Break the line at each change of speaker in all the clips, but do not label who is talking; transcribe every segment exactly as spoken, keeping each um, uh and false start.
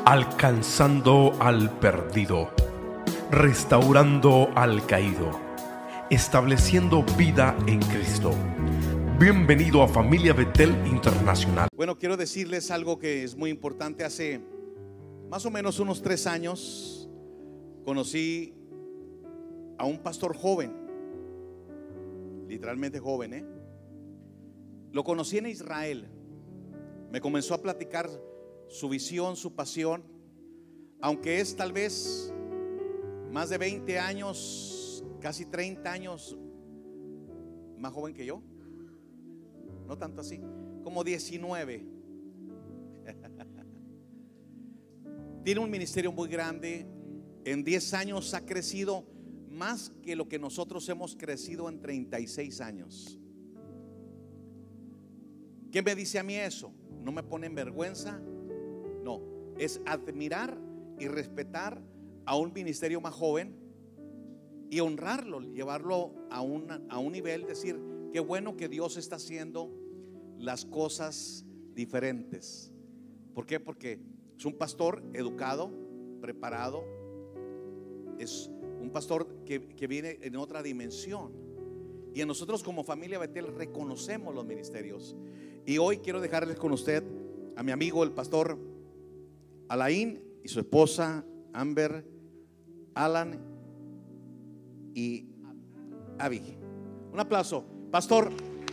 alcanzando al perdido, restaurando al caído, estableciendo vida en Cristo. Bienvenido a Familia Betel Internacional.
Bueno, quiero decirles algo que es muy importante. Hace más o menos unos tres años conocí a un pastor joven, literalmente joven, ¿eh? Lo conocí en Israel. Me comenzó a platicar su visión, su pasión, aunque es tal vez más de veinte años, casi treinta años más joven que yo. No tanto así, como diecinueve. Tiene un ministerio muy grande. En diez años ha crecido más que lo que nosotros hemos crecido en treinta y seis años. ¿Qué me dice a mí eso? No me pone en vergüenza. No, es admirar y respetar a un ministerio más joven y honrarlo, llevarlo a un, a un nivel, decir, qué bueno que Dios está haciendo las cosas diferentes. ¿Por qué? Porque es un pastor educado, preparado. Es un pastor que, que viene en otra dimensión. Y nosotros como familia Betel reconocemos los ministerios. Y hoy quiero dejarles con usted a mi amigo el pastor Alain y su esposa Amber, Alan y Abby. Un aplauso, pastor.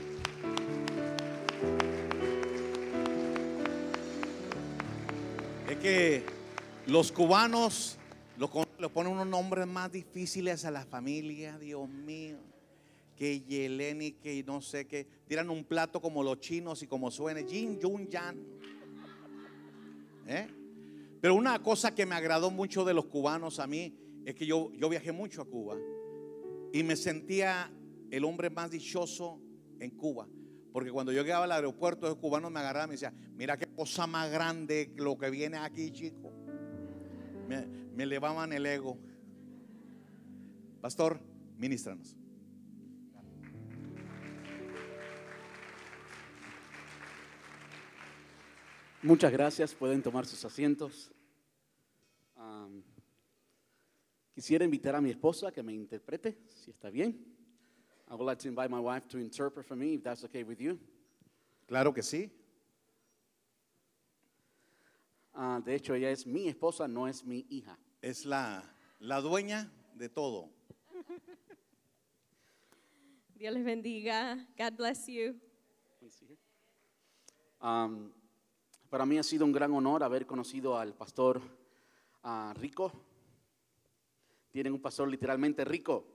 Es que los cubanos lo, lo ponen unos nombres más difíciles a la familia, Dios mío. Que Yeleni, que no sé qué. Tiran un plato como los chinos y como suene Jin, Yun, Yan. ¿Eh? Pero una cosa que me agradó mucho de los cubanos a mí es que yo, yo viajé mucho a Cuba y me sentía el hombre más dichoso en Cuba. Porque cuando yo llegaba al aeropuerto, los cubanos me agarraban y me decían, mira qué cosa más grande lo que viene aquí, chico. Me, me elevaban el ego. Pastor, ministranos.
Muchas gracias, pueden tomar sus asientos. Um, quisiera invitar a mi esposa que me interprete, si está bien. I would like to invite my wife to interpret for me, if that's okay with you.
Claro que sí.
Uh, de hecho, ella es mi esposa, no es mi hija.
Es la, la dueña de todo.
Dios les bendiga. God bless you.
Um, para mí ha sido un gran honor haber conocido al pastor uh, Rico. Tienen un pastor literalmente rico.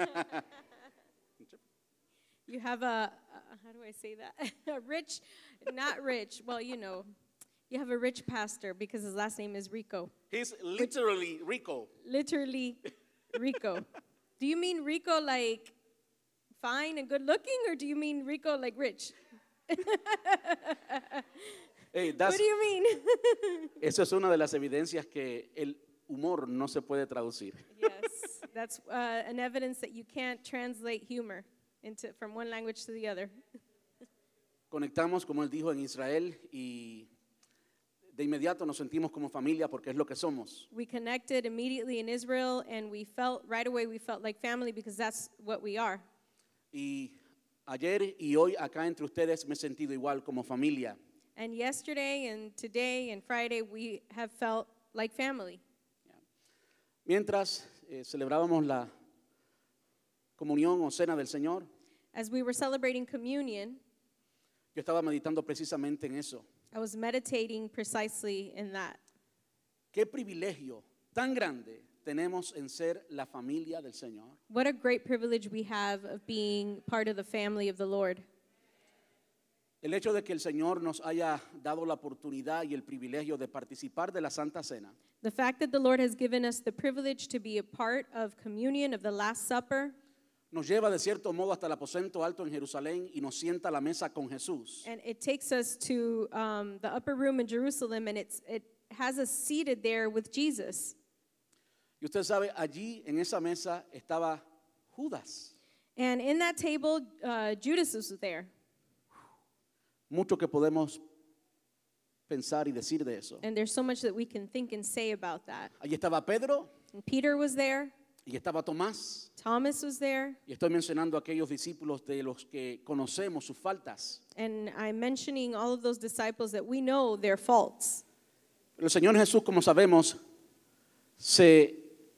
You have a, a, how do I say that? A rich, not rich, well, you know, you have a rich pastor because his last name is Rico.
He's literally Rico.
Literally Rico. Do you mean Rico like fine and good looking, or do you mean Rico like rich?
Hey, that's,
what do you mean?
Eso es una de las evidencias que el humor no se puede traducir.
Yes, that's uh, an evidence that you can't translate humor into from one language to the other.
Conectamos, como él dijo, en Israel y de inmediato nos sentimos como familia porque es lo que somos.
We connected immediately in Israel, and we felt right away we felt like family because that's what we are.
Y ayer y hoy acá entre ustedes me he sentido igual como familia.
And yesterday and today and Friday we have felt like family.
Mientras eh, celebrábamos la comunión o cena del Señor,
As we were celebrating communion,
yo estaba meditando precisamente en eso.
I was meditating precisely in that.
Qué privilegio tan grande tenemos en ser la familia del Señor.
What a great privilege we have of being part of the family of the Lord.
El hecho de que el Señor nos haya dado la oportunidad y el privilegio de participar de la Santa Cena.
The fact that the Lord has given us the privilege to be a part of communion, of the Last Supper,
Nos lleva de cierto modo hasta el aposento alto en Jerusalén y nos sienta a la mesa con Jesús.
and it takes us to um, the upper room in Jerusalem, and it's, it has us seated there with Jesus.
Y usted sabe, allí en esa mesa estaba Judas.
And in that table, uh, Judas was there.
Mucho que podemos pensar y decir de eso.
And there's so much that we can think and say about that.
Allí estaba Pedro
And Peter was there.
y estaba Tomás.
Thomas was there.
Y estoy mencionando a aquellos discípulos de los que conocemos sus faltas.
And I'm mentioning all of those disciples that we know their faults.
Pero el Señor Jesús, como sabemos, se,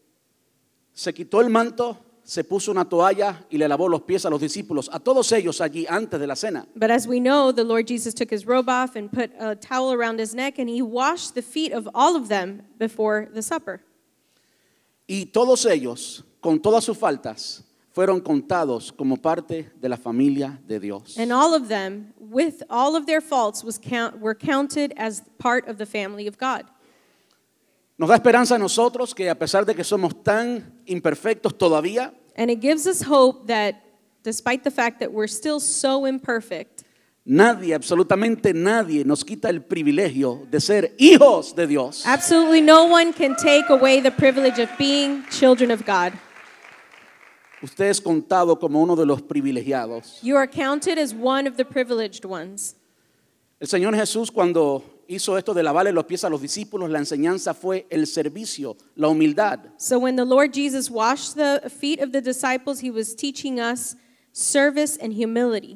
se quitó el manto, se puso una toalla y le lavó los pies a los discípulos, a todos ellos allí antes de la cena.
But as we know, the Lord Jesus took his robe off and put a towel around his neck, and he washed the feet of all of them before the supper.
Y todos ellos, con todas sus faltas, fueron contados como parte de la familia de Dios.
And all of them, with all of their faults, was count, were counted as part of the family of God.
Nos da esperanza a nosotros que a pesar de que somos tan imperfectos todavía,
And it gives us hope that despite the fact that we're still so imperfect,
nadie, absolutamente nadie nos quita el privilegio de ser hijos de Dios.
absolutely no one can take away the privilege of being children of God.
Usted es contado como uno de los privilegiados.
You are counted as one of the privileged ones.
El Señor Jesús, cuando hizo esto de lavarle los pies a los discípulos, la enseñanza fue el servicio, la humildad.
So when the Lord Jesus washed the feet of the disciples, he was teaching us service and humility.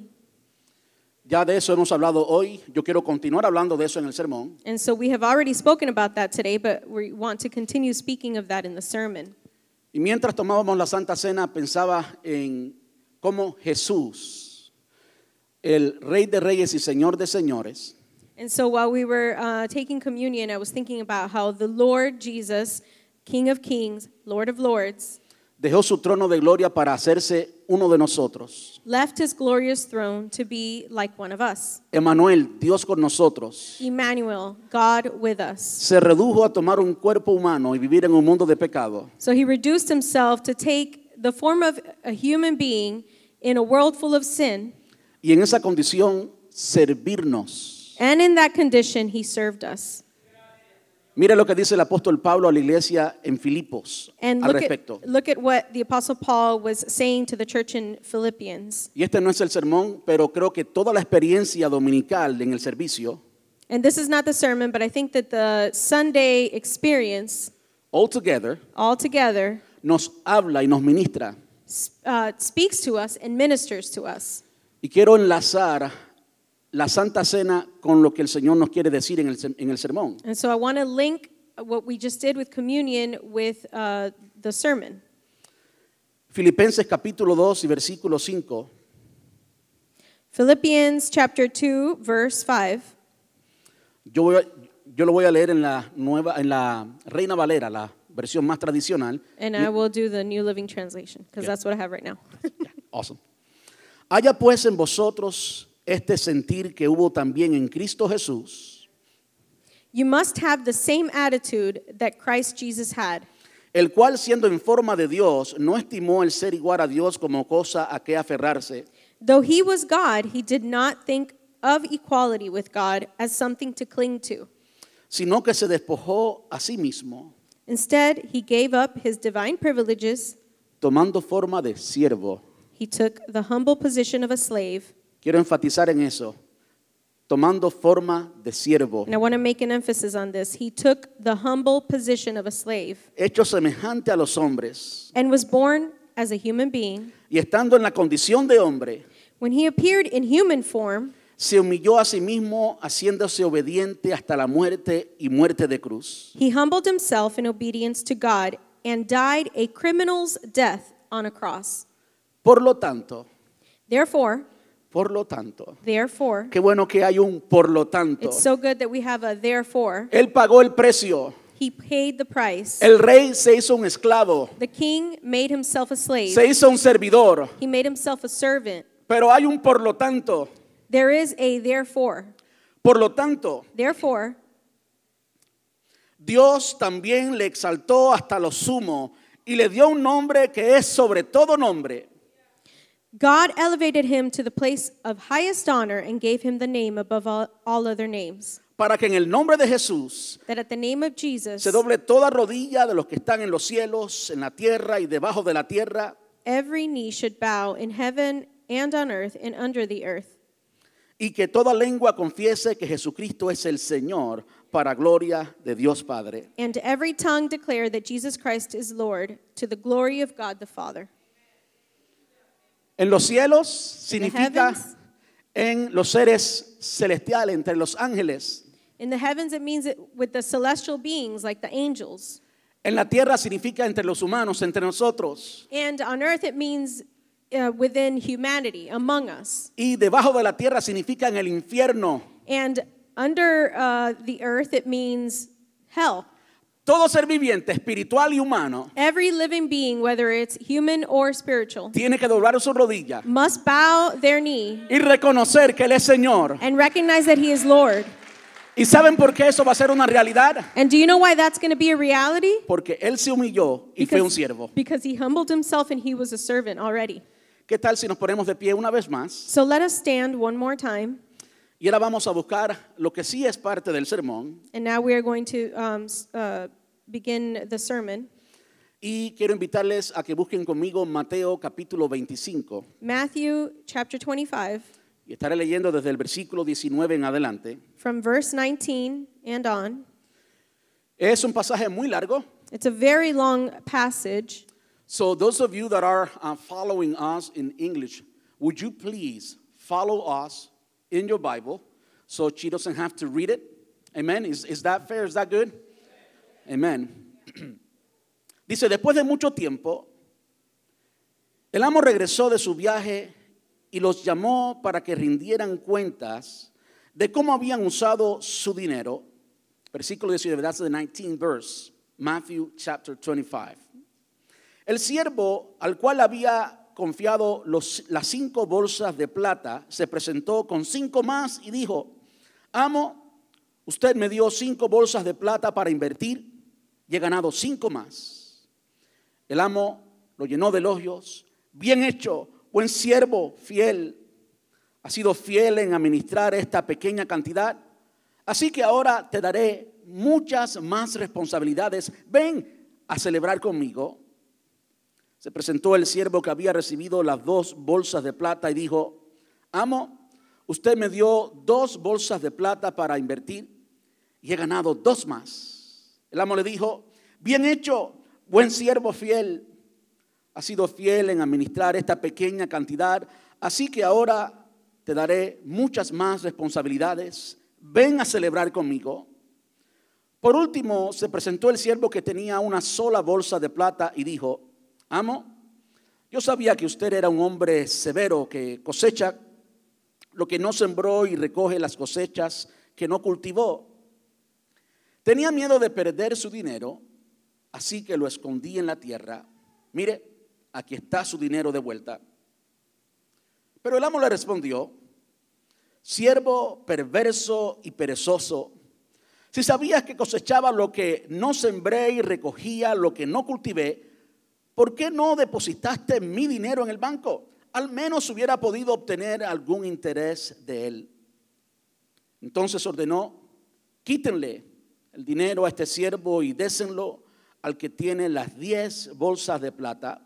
Ya de eso hemos hablado hoy. Yo quiero continuar hablando de eso en el sermón.
And so we have already spoken about that today, but we want to continue speaking of that in the sermon.
Y mientras tomábamos la Santa Cena, pensaba en cómo Jesús, el Rey de Reyes y Señor de Señores,
And so while we were uh, taking communion, I was thinking about how the Lord Jesus, King of Kings, Lord of Lords,
dejó su trono de gloria para hacerse uno de nosotros.
left his glorious throne to be like one of us.
Emmanuel, Dios con nosotros,
Emmanuel, God with us.
se redujo a tomar un cuerpo humano y vivir en un mundo de pecado.
So he reduced himself to take the form of a human being in a world full of sin,
Y en esa condición, servirnos.
and in that condition he served us.
Mire lo que dice el apóstol Pablo a la iglesia en Filipos
And
al
look
respecto.
at, look at what the Apostle Paul was saying to the church in Philippians.
Y este no es el sermón, pero creo que toda la experiencia dominical en el servicio,
And this is not the sermon, but I think that the Sunday experience
altogether,
altogether
nos habla y nos ministra.
uh, speaks to us and ministers to us.
Y quiero enlazar la Santa Cena con lo que el Señor nos quiere decir en el, en el sermón.
And so I want to link what we just did with communion with uh, the sermon.
Filipenses capítulo dos y versículo cinco.
Philippians chapter two, verse five.
Yo, voy a- yo lo voy a leer en la nueva, en la Reina Valera, la versión más tradicional.
And I will do the New Living Translation, because
Yeah.
that's what I have right now.
Awesome. Haya pues en vosotros este sentir que hubo también en Cristo Jesús,
You must have the same attitude that Christ Jesus had,
el cual siendo en forma de Dios, no estimó el ser igual a Dios como cosa a que aferrarse,
though he was God, he did not think of equality with God as something to cling to.
sino que se despojó a sí mismo,
Instead, he gave up his divine privileges.
tomando forma de siervo.
He took the humble position of a slave.
Quiero enfatizar en eso, tomando forma de siervo,
And I want to make an emphasis on this. He took the humble position of a slave
hecho semejante a los hombres,
and was born as a human being.
y estando en la condición de hombre,
When he appeared in human form,
se humilló a sí mismo, haciéndose obediente hasta la muerte y muerte de cruz.
he humbled himself in obedience to God and died a criminal's death on a cross.
Por lo tanto,
Therefore,
por lo tanto,
therefore,
qué bueno que hay un por lo tanto.
it's so good that we have a therefore.
Él pagó el precio.
He paid the price.
El rey se hizo un esclavo,
The king made himself a slave.
se hizo un servidor,
He made himself a servant.
pero hay un por lo tanto.
There is a therefore.
Por lo tanto,
Therefore,
Dios también le exaltó hasta lo sumo y le dio un nombre que es sobre todo nombre,
God elevated him to the place of highest honor and gave him the name above all, all other names,
para que en el nombre de Jesús
that at the name of Jesus,
se doble toda rodilla de los que están en los cielos, en la tierra y debajo de la tierra,
every knee should bow in heaven and on earth and under the earth,
y que toda lengua confiese que Jesucristo es el Señor, para gloria de Dios Padre.
And every tongue declare that Jesus Christ is Lord, to the glory of God the Father.
En los cielos
In the
significa
heavens,
en los seres celestiales, entre los ángeles.
in the heavens it means it with the celestial beings like the angels.
En la tierra significa entre los humanos, entre nosotros.
And on earth it means uh, within humanity, among us.
Y debajo de la tierra significa en el infierno.
And under uh, the earth it means hell.
Todo ser viviente, espiritual y humano,
Every living being, whether it's human or spiritual,
tiene que doblar su rodilla
must bow their knee
y reconocer que Él es Señor.
and recognize that he is Lord.
¿Y saben por qué eso va a ser una realidad?
And do you know why that's going to be a reality?
Porque Él se humilló y fue un siervo.
because he humbled himself and he was a servant already.
¿Qué tal si nos ponemos de pie una vez más?
So let us stand one more time.
Y ahora vamos a buscar lo que sí es parte del sermón.
And now we are going to um, s- uh, begin the sermon.
Y quiero invitarles a que busquen conmigo Mateo capítulo veinticinco.
Matthew chapter twenty-five,
Y estaré leyendo desde el versículo diecinueve en adelante.
from verse nineteen and on.
Es un pasaje muy largo.
It's a very long passage.
So those of you that are uh, following us in English, would you please follow us in your Bible so she doesn't have to read it? Amen. Is, is that fair? Is that good? Amen. Dice, después de mucho tiempo, el amo regresó de su viaje y los llamó para que rindieran cuentas de cómo habían usado su dinero. Versículo diecinueve, that's the nineteenth verse, Matthew chapter twenty-five. El siervo al cual había confiado los, las cinco bolsas de plata se presentó con cinco más y dijo, amo, usted me dio cinco bolsas de plata para invertir y he ganado cinco más. El amo lo llenó de elogios. Bien hecho, buen siervo, fiel. Has sido fiel en administrar esta pequeña cantidad. Así que ahora te daré muchas más responsabilidades. Ven a celebrar conmigo. Se presentó el siervo que había recibido las dos bolsas de plata y dijo, amo, usted me dio dos bolsas de plata para invertir y he ganado dos más. El amo le dijo, bien hecho, buen siervo fiel. Has sido fiel en administrar esta pequeña cantidad, así que ahora te daré muchas más responsabilidades. Ven a celebrar conmigo. Por último, se presentó el siervo que tenía una sola bolsa de plata y dijo, amo, yo sabía que usted era un hombre severo que cosecha lo que no sembró y recoge las cosechas que no cultivó. Tenía miedo de perder su dinero, así que lo escondí en la tierra. Mire, aquí está su dinero de vuelta. Pero el amo le respondió, siervo perverso y perezoso, si sabías que cosechaba lo que no sembré y recogía lo que no cultivé, ¿por qué no depositaste mi dinero en el banco? Al menos hubiera podido obtener algún interés de él. Entonces ordenó, quítenle el dinero a este siervo y désenlo al que tiene las diez bolsas de plata.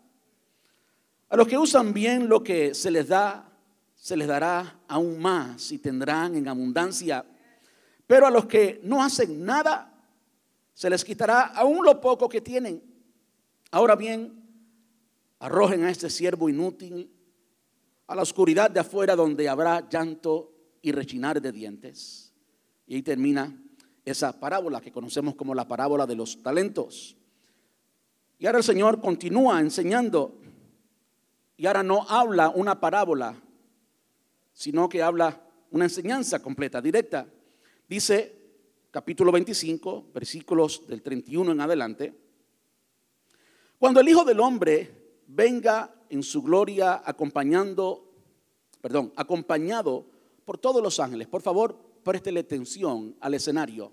A los que usan bien lo que se les da, se les dará aún más y tendrán en abundancia. Pero a los que no hacen nada, se les quitará aún lo poco que tienen. Ahora bien, arrojen a este siervo inútil a la oscuridad de afuera donde habrá llanto y rechinar de dientes. Y ahí termina esa parábola que conocemos como la parábola de los talentos. Y ahora el Señor continúa enseñando y ahora no habla una parábola, sino que habla una enseñanza completa, directa. Dice capítulo veinticinco, versículos del treinta y uno en adelante. Cuando el Hijo del Hombre venga en su gloria acompañando, perdón, acompañado por todos los ángeles. Por favor, préstele atención al escenario.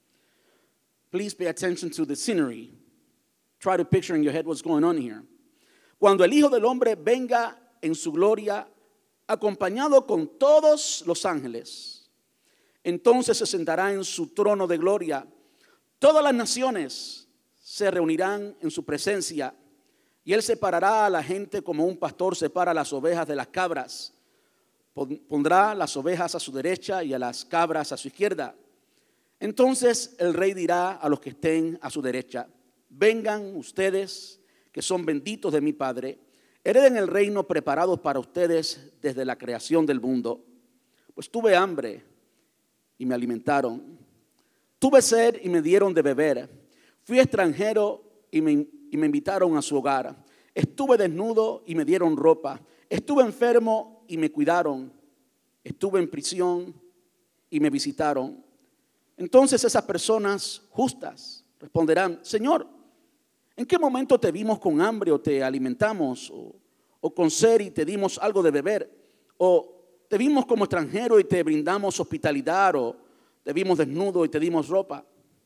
Please pay attention to the scenery. Try to picture in your head what's going on here. Cuando el Hijo del Hombre venga en su gloria acompañado con todos los ángeles, entonces se sentará en su trono de gloria. Todas las naciones se reunirán en su presencia y él separará a la gente como un pastor separa las ovejas de las cabras. pondrá las ovejas a su derecha y a las cabras a su izquierda. Entonces el rey dirá a los que estén a su derecha: vengan ustedes, que son benditos de mi Padre, hereden el reino preparado para ustedes desde la creación del mundo. Pues tuve hambre y me alimentaron, tuve sed y me dieron de beber, fui extranjero y me, y me invitaron a su hogar, estuve desnudo y me dieron ropa, estuve enfermo y me cuidaron, estuve en prisión y me visitaron. Entonces esas personas justas responderán: Señor, ¿en qué momento te vimos con hambre o te alimentamos? O, o con sed y te dimos algo de beber? ¿O te vimos como extranjero y te brindamos hospitalidad? ¿O te vimos desnudo y te dimos ropa?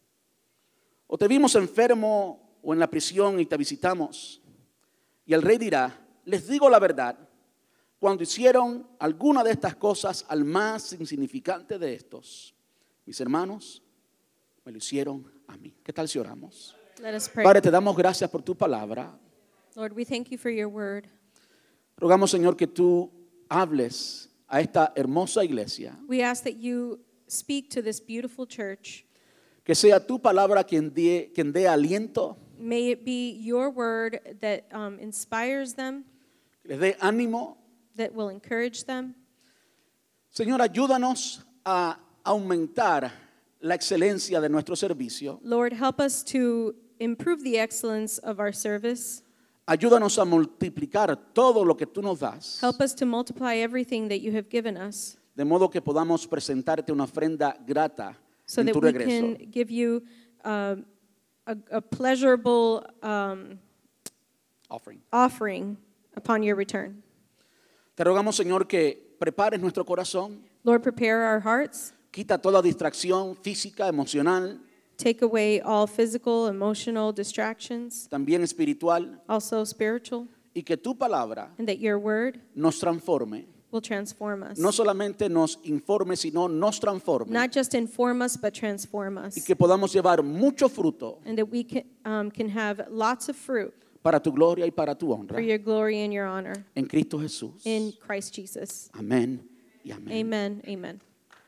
¿O te vimos enfermo o en la prisión y te visitamos? Y el rey dirá: les digo la verdad, cuando hicieron alguna de estas cosas al más insignificante de estos, mis hermanos, me lo hicieron a mí. ¿Qué tal si oramos?
Let us pray.
Padre, te damos gracias por tu palabra.
Lord, we thank you for your word.
Rogamos, Señor, que tú hables a esta hermosa iglesia.
We ask that you speak to this beautiful church.
Que sea tu palabra quien dé, quien dé aliento,
May it be your word that um, inspires them,
que les dé ánimo.
that will encourage them.
Señor, ayúdanos a aumentar la excelencia de nuestro servicio.
Lord, help us to improve the excellence of our service.
Ayúdanos a multiplicar todo lo que tú nos das,
Help us to multiply everything that you have given us
de modo que podamos presentarte una ofrenda grata
so
en
that
tu
we
regreso.
can give you um, a, a pleasurable um,
Offering.
offering upon your return.
Te rogamos, Señor, que prepares nuestro corazón,
Lord, prepare our hearts.
quita toda distracción física, emocional,
Take away all physical, emotional distractions,
también espiritual,
also spiritual,
y que tu palabra
and that your word
nos transforme.
will transform us.
No solamente nos informe, sino nos transforme.
Not just inform us, but transform
Y
us.
que podamos llevar mucho fruto
And that we can, um, can have lots of fruit
para tu gloria y para tu honra.
for your glory and your honor
En Cristo Jesús.
in Christ Jesus.
Amén y amén.
Amen. Amen.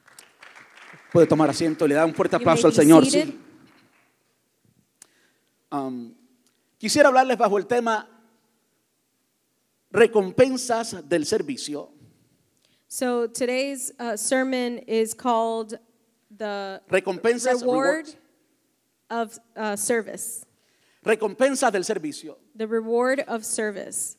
Puede tomar asiento y le da un fuerte
You may
aplauso al
be
Señor.
seated.
Sí. Um, quisiera hablarles bajo el tema recompensas del servicio.
So today's uh, sermon is called the
Recompensas,
reward
rewards.
of uh, service.
Recompensas del servicio.
The reward of service.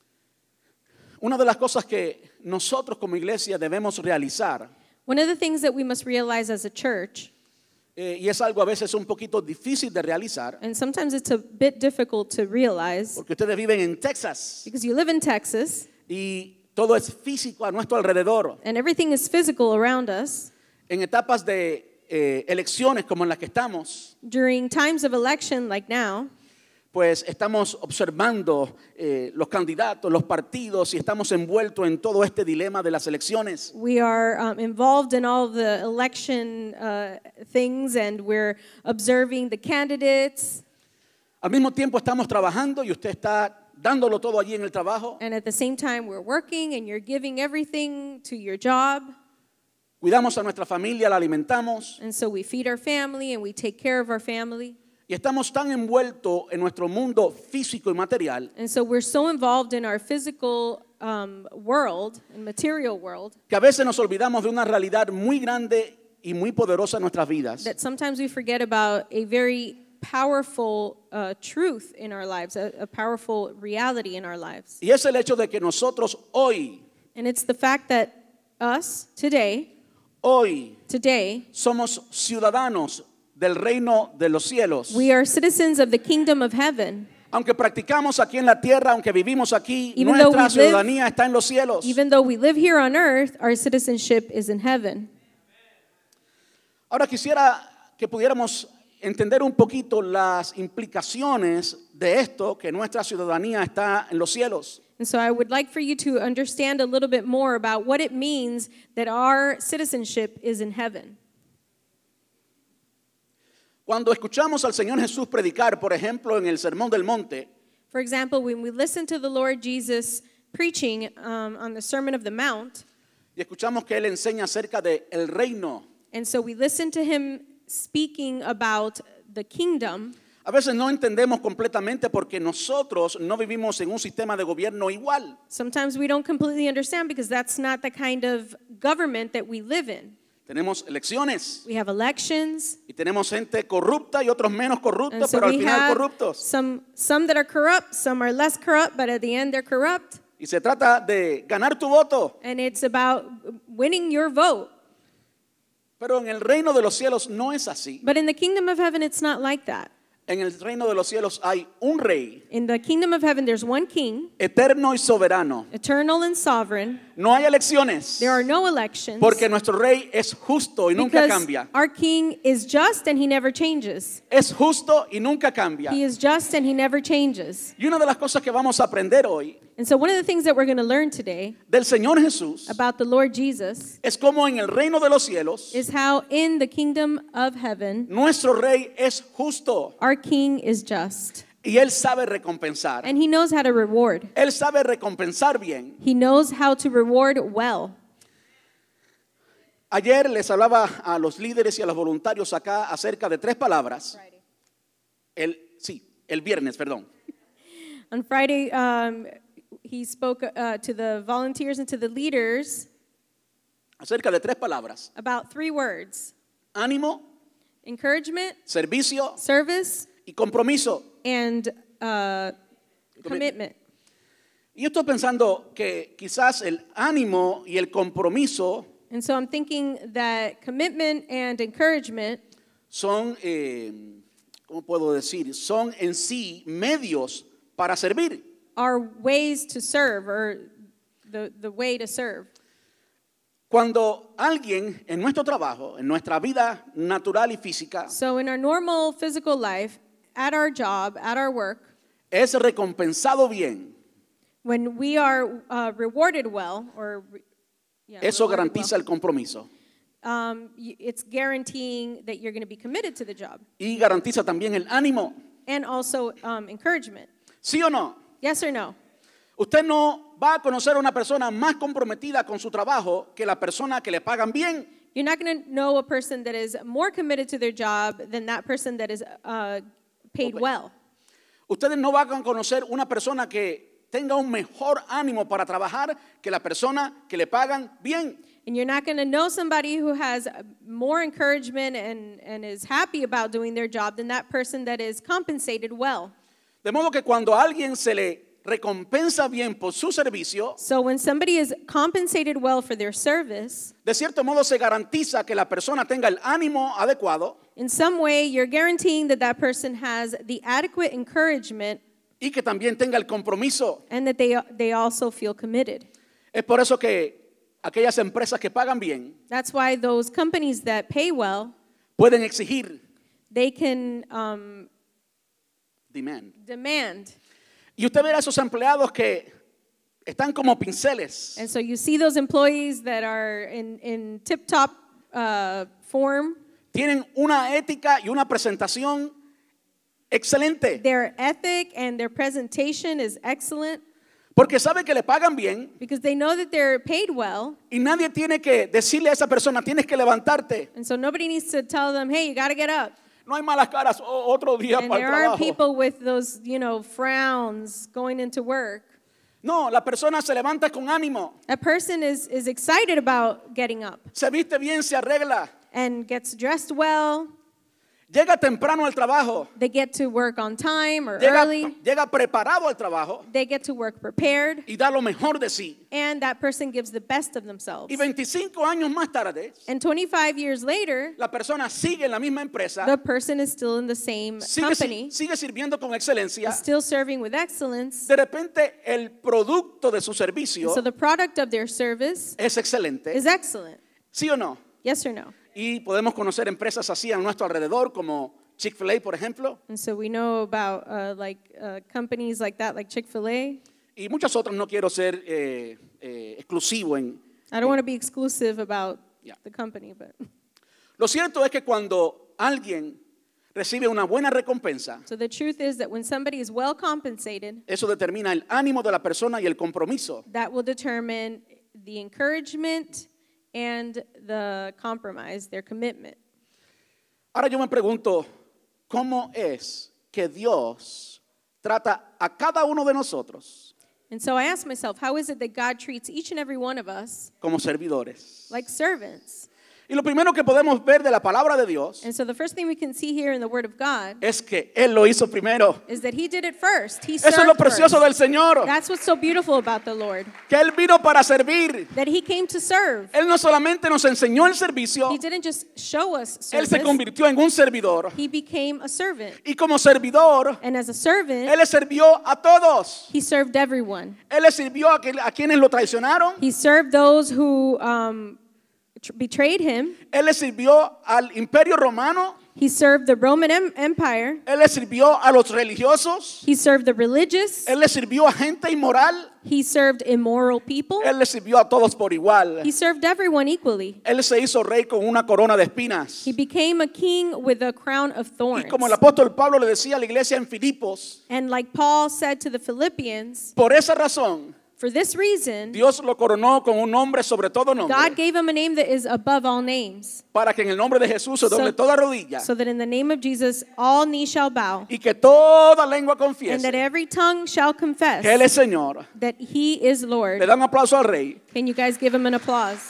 Una de las cosas que nosotros como iglesia debemos realizar,
One of the things that we must realize as a church,
eh, y es algo a veces un poquito difícil de realizar,
and sometimes it's a bit difficult to realize
porque ustedes viven en Texas
because you live in Texas
y todo es físico a nuestro alrededor.
and everything is physical around us.
En etapas de eh, elecciones como en las que estamos,
During times of election like now,
pues estamos observando eh, los candidatos, los partidos y estamos envueltos en todo este dilema de las elecciones.
we are um, involved in all the election uh, things and we're observing the candidates.
Al mismo tiempo estamos trabajando y usted está dándolo todo allí en el trabajo.
And at the same time, we're working and you're giving everything to your job.
Cuidamos a nuestra familia, la alimentamos
And so we feed our family and we take care of our family.
y estamos tan envueltos en nuestro mundo físico y material
And so we're so involved in our physical um, world and material world
que a veces nos olvidamos de una realidad muy grande y muy poderosa en nuestras vidas.
that sometimes we forget about a very powerful uh, truth in our lives, a, a powerful reality in our lives.
Y es el hecho de que nosotros hoy,
And it's the fact that us today,
hoy
today,
somos ciudadanos del reino de los cielos.
we are citizens of the kingdom of heaven.
Aunque practicamos aquí en la tierra, aunque vivimos aquí,
Even though
nuestra
we live-
ciudadanía está en los cielos.
Even though we live here on earth, our citizenship is in heaven.
Ahora quisiera que pudiéramos entender un poquito las implicaciones de esto, que nuestra ciudadanía está en los cielos.
And so I would like for you to understand a little bit more about what it means that our citizenship is in heaven.
Cuando escuchamos al Señor Jesús predicar, por ejemplo, en el Sermón del Monte,
For example, when we listen to the Lord Jesus preaching um, on the Sermon of the Mount,
Y escuchamos que él enseña acerca de el reino.
And so we listen to him speaking about the kingdom.
A veces no entendemos completamente porque nosotros no vivimos en un sistema de gobierno igual.
Sometimes we don't completely understand because that's not the kind of government that we live in.
Tenemos elecciones
We have elections,
y tenemos gente corrupta y otros menos
and
corruptos,
so
pero al
we
final
have
corruptos.
some, some that are corrupt, some are less corrupt, but at the end they're corrupt.
Y se trata de ganar tu voto.
And it's about winning your vote.
Pero en el reino de los cielos no es así.
But in the kingdom of heaven, it's not like that.
En el reino de los cielos hay un rey
In the kingdom of heaven, there's one king,
eterno y soberano.
eternal and sovereign.
No hay elecciones
There are no elections.
porque nuestro rey es justo y nunca
Because
cambia.
our king is just and he never changes.
Es justo y nunca cambia.
He is just and he never changes.
Y una de las cosas que vamos a aprender hoy
And so one of the things that we're going to learn today
del Señor Jesús
about the Lord Jesus
es como en el reino de los cielos
is how in the kingdom of heaven,
nuestro rey es justo
our king is just.
y él sabe recompensar.
And he knows how to reward.
Él sabe recompensar bien.
He knows how to reward well.
Ayer les hablaba a los líderes y a los voluntarios acá acerca de tres palabras. El, sí, el viernes, perdón.
On Friday, um, he spoke uh, to the volunteers and to the leaders
Acerca de tres palabras.
about three words:
Ánimo,
encouragement,
servicio
service,
y compromiso.
and uh, commitment.
Y yo estoy pensando que quizás el ánimo y el compromiso
And so I'm thinking that commitment and encouragement
son, eh, ¿cómo puedo decir? Son en sí medios para servir.
are ways to serve, or the, the way to serve.
Cuando alguien en nuestro trabajo, en nuestra vida natural y física,
So in our normal physical life, at our job, at our work,
es recompensado bien,
when we are uh, rewarded well, or re- yeah,
eso
rewarded
garantiza el compromiso.
well, um, y- it's guaranteeing that you're going to be committed to the job,
Y garantiza también el ánimo.
and also um, encouragement.
¿Sí o no?
Yes or no?
Usted no va a conocer a una persona más comprometida con su trabajo que la persona que le pagan bien.
You're not going to know a person that is more committed to their job than that person that is uh, paid
Okay.
well.
Ustedes no van a conocer una persona que tenga un mejor ánimo para trabajar que la persona que le pagan bien.
And you're not going to know somebody who has uh, more encouragement and, and is happy about doing their job than that person that is compensated well.
De modo que cuando a alguien se le recompensa bien por su servicio,
So when somebody is compensated well for their service,
de cierto modo se garantiza que la persona tenga el ánimo adecuado
in some way you're guaranteeing that that person has the adequate encouragement
y que también tenga el compromiso.
and that they, they also feel committed.
Es por eso que aquellas empresas que pagan bien
That's why those companies that pay well,
pueden exigir
they can um,
demand.
demand.
Y usted verá a esos empleados que están como pinceles.
And so you see those employees that are in, in tip-top uh, form.
Tienen una ética y una presentación excelente.
Their ethic and their presentation is excellent
Porque sabe que le pagan bien
because they know that they're paid well.
y nadie tiene que decirle a esa persona, tienes que levantarte.
And so nobody needs to tell them, hey, you got to get up.
No hay malas caras, o- otro día
And
para
there
el
aren't
trabajo.
people with those, you know, frowns going into work.
No, la persona se levanta con ánimo,
A person is, is excited about getting up
se viste bien, se arregla,
and gets dressed well.
llega temprano al trabajo,
They get to work on time or
llega,
early.
llega preparado al trabajo
They get to work prepared.
y da lo mejor de sí.
And that person gives the best of themselves.
Y veinticinco años más tarde,
And twenty-five years later,
la persona sigue en la misma empresa,
the person is still in the same
sigue,
company,
sigue sirviendo con excelencia.
still serving with excellence.
De repente el producto de su servicio
So the product of their service
es excelente,
is excellent.
¿sí o no?
Yes or no?
Y podemos conocer empresas así a nuestro alrededor, como Chick-fil-A, por ejemplo,
And so we know about uh, like uh, companies like that, like Chick-fil-A.
y muchas otras. No quiero ser eh, eh, exclusivo en...
I don't want to be exclusive about
Yeah.
the company, but
Lo cierto es que cuando alguien recibe una buena recompensa,
so the truth is that when somebody is well compensated,
eso determina el ánimo de la persona y el compromiso.
that will determine the encouragement and the compromise, their commitment.
Ahora yo me pregunto, ¿cómo es que Dios trata a cada uno de nosotros
And so I ask myself, how is it that God treats each and every one of us
como servidores?
like servants?
Y lo primero que podemos ver de la palabra de Dios
And so the first thing we can see here in the Word of God
es que Él lo hizo primero.
is that He did it first. He
Eso es lo
served
precioso
first.
del Señor,
That's what's so beautiful about the Lord,
que Él vino para servir.
that He came to serve.
Él no solamente nos enseñó el servicio,
He didn't just show us
Él se
service.
convirtió en un servidor.
He became a servant.
Y como servidor,
And as a servant,
Él le sirvió a todos.
He served everyone.
Él le sirvió a, que- a quienes lo traicionaron.
He served those who um, tr- betrayed Him.
Él le sirvió al imperio romano.
He served the Roman em- Empire.
Él le sirvió a los religiosos.
He served the religious.
Él le sirvió a gente inmoral.
He served immoral people.
Él le sirvió a todos por igual.
He served everyone equally.
Él se hizo rey con una corona de espinas.
He became a king with a crown of
Y
thorns.
como el apóstol Pablo le decía a la iglesia en Filipos,
And like Paul said to the Philippians,
por esa razón,
for this reason,
Dios lo coronó con un nombre sobre todo nombre,
God gave him a name that is above all names,
para que en el nombre de Jesús se doble
So-
toda rodilla
so that in the name of Jesus all knees shall bow,
y que toda lengua
and that
confiese
every tongue shall confess
que Él es Señor.
that He is
Le
Lord.
da un aplauso al rey.
Can you guys give Him an applause?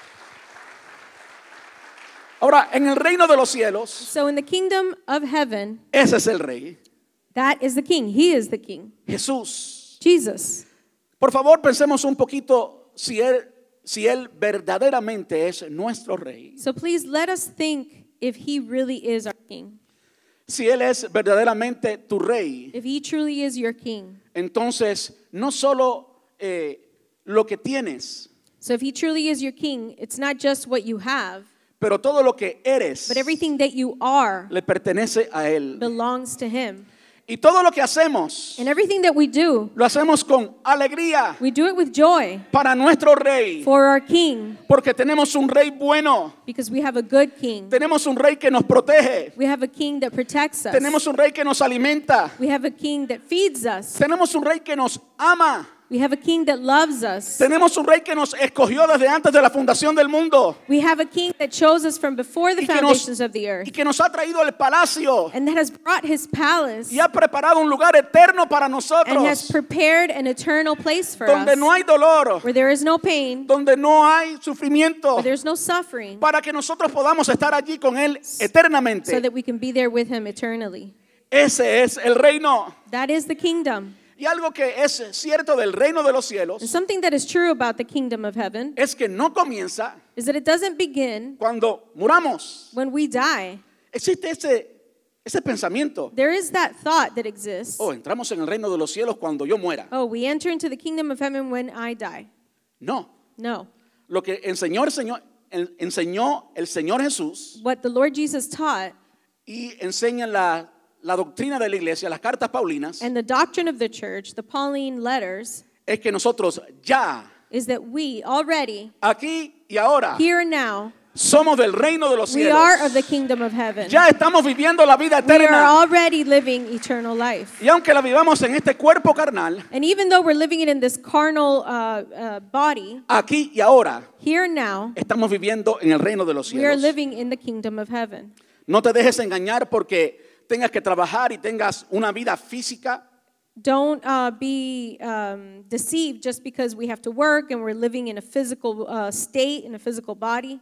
Ahora, en el reino de los cielos,
So in the kingdom of heaven,
ese es el rey,
that is the king. He is the king.
Jesús.
Jesus.
Por favor, pensemos un poquito si él, si él verdaderamente es nuestro rey.
So please let us think if He really is our king.
Si Él es verdaderamente tu rey,
If He truly is your king.
entonces no solo eh, lo que tienes,
So if He truly is your king, it's not just what you have,
pero todo lo que eres
but everything that you are
le pertenece a Él.
belongs to Him.
Y todo lo que hacemos,
And everything that we do,
lo hacemos con alegría
we do it with joy
para nuestro rey,
for our king,
porque tenemos un rey bueno,
because we have a good king.
tenemos un rey que nos protege,
We have a king that protects us.
tenemos un rey que nos alimenta,
We have a king that feeds us.
tenemos un rey que nos ama,
We have a king that loves us.
tenemos un rey que nos escogió desde antes de la fundación del mundo
We have a king that chose us from before the
y que nos,
foundations of the earth,
y que nos ha traído al palacio
and that has brought His palace
y ha preparado un lugar eterno para
and has
nosotros,
prepared an eternal place for
donde
us,
no hay dolor,
where there is no pain,
donde no hay sufrimiento,
where there's no suffering,
para que nosotros podamos estar allí con Él eternamente.
so that we can be there with Him eternally.
Ese es el reino.
That is the kingdom.
Y algo que es cierto del reino de los
And
cielos
something that is true about the kingdom of heaven
es que no comienza
is that it doesn't begin
cuando muramos.
when we die.
Existe ese, ese pensamiento.
There is that thought that exists.
Oh, entramos en el reino de los cielos cuando yo muera.
Oh, we enter into the kingdom of heaven when I die.
No.
No.
Lo que enseñó el Señor, el- enseñó el Señor Jesús
What the Lord Jesus taught
y enseña la, la doctrina de la iglesia, las cartas paulinas,
and the doctrine of the church, the Pauline letters,
es que nosotros ya,
is that we already,
aquí y ahora,
here and now,
somos del reino de los
we
cielos.
are of the kingdom of heaven.
Ya estamos viviendo la vida
We are
eterna.
already living eternal life.
Y aunque la vivamos en este cuerpo carnal,
And even though we're living it in this carnal uh, uh, body,
aquí y ahora,
here and now,
estamos viviendo en el reino de los
we are
cielos.
living in the kingdom of heaven.
No te dejes engañar porque tengas que trabajar y tengas una vida física.
Don't uh, be um, deceived just because we have to work and we're living in a physical uh, state, in a physical body.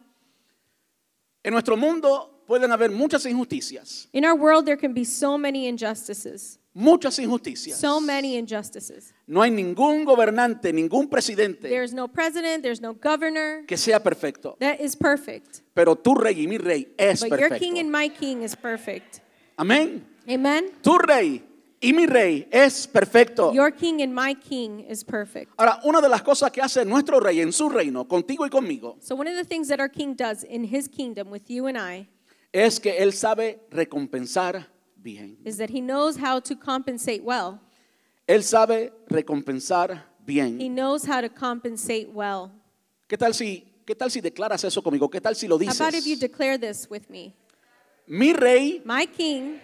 En nuestro mundo pueden haber muchas injusticias,
In our world, there can be so many injustices.
muchas injusticias.
So many injustices.
No hay ningún gobernante, ningún presidente
There's no president, there's no governor
que sea perfecto.
that is perfect.
Pero tu rey y mi rey es
But your king
perfecto.
and my king is perfect.
Amén.
Amen?
Tu rey y mi rey es perfecto.
Your king and my king is perfect.
Ahora, una de las cosas que hace nuestro rey en su reino, contigo y conmigo,
So one of the things that our king does in his kingdom with you and I
es que él sabe recompensar bien.
is that he knows how to compensate well.
Él sabe recompensar
He
bien.
knows how to compensate well.
¿Qué tal si, qué tal si declaras eso conmigo? ¿Qué tal si lo
How about if you
dices?
declare this with me?
Mi rey
My king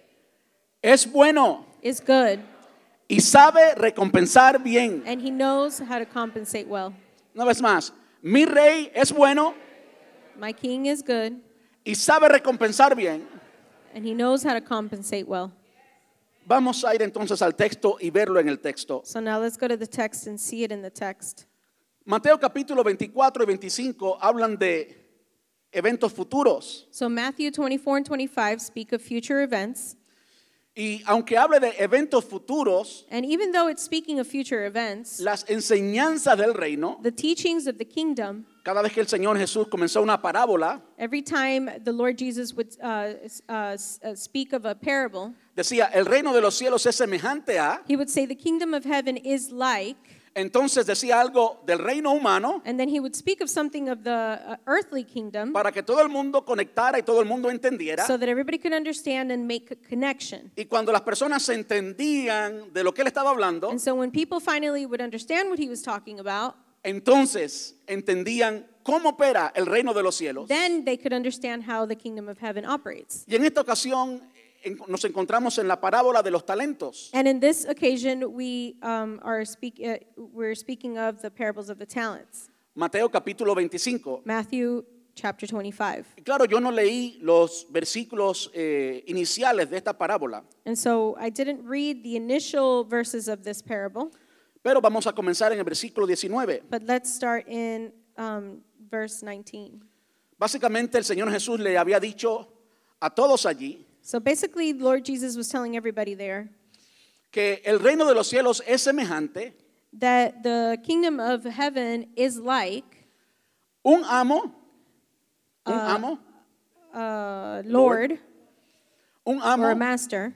es bueno
is good
y sabe recompensar bien.
and he knows how to compensate well.
Una vez más, mi rey es bueno
My king is good,
y sabe recompensar bien.
and he knows how to compensate well.
Vamos a ir entonces al texto y verlo en el texto.
So now let's go to the text and see it in the text.
Mateo capítulo veinticuatro y veinticinco hablan de eventos futuros.
So Matthew twenty-four and twenty-five speak of future events.
Y aunque hable de eventos futuros,
And even though it's speaking of future events,
las enseñanzas del reino,
the teachings of the kingdom,
cada vez que el Señor Jesús comenzó una parábola,
every time the Lord Jesus would uh, uh, s- uh, speak of a parable,
decía, el reino de los cielos es semejante a,
he would say the kingdom of heaven is like,
entonces decía algo del reino humano
and then he would speak of something of the uh, earthly kingdom
para que todo el mundo conectara y todo el mundo entendiera.
so that everybody could understand and make a connection.
Y cuando las personas se entendían de lo que él estaba hablando,
And so when people finally would understand what he was talking about,
entonces entendían cómo opera el reino de los cielos.
then they could understand how the kingdom of heaven operates.
Y en esta ocasión en- nos encontramos en la parábola de los talentos.
And in this occasion, we um, are speak, uh, we're speaking of the parables of the talents.
Mateo capítulo veinticinco.
Matthew chapter twenty-five.
Y claro, yo no leí los versículos eh, iniciales de esta parábola,
And so I didn't read the initial verses of this parable,
pero vamos a comenzar en el versículo diecinueve.
but let's start in um, verse nineteen.
Básicamente el Señor Jesús le había dicho a todos allí
So basically, Lord Jesus was telling everybody there
que el reino de los cielos es semejante
that the kingdom of heaven is like
un amo, un amo,
a Lord
un
or a
amo,
master.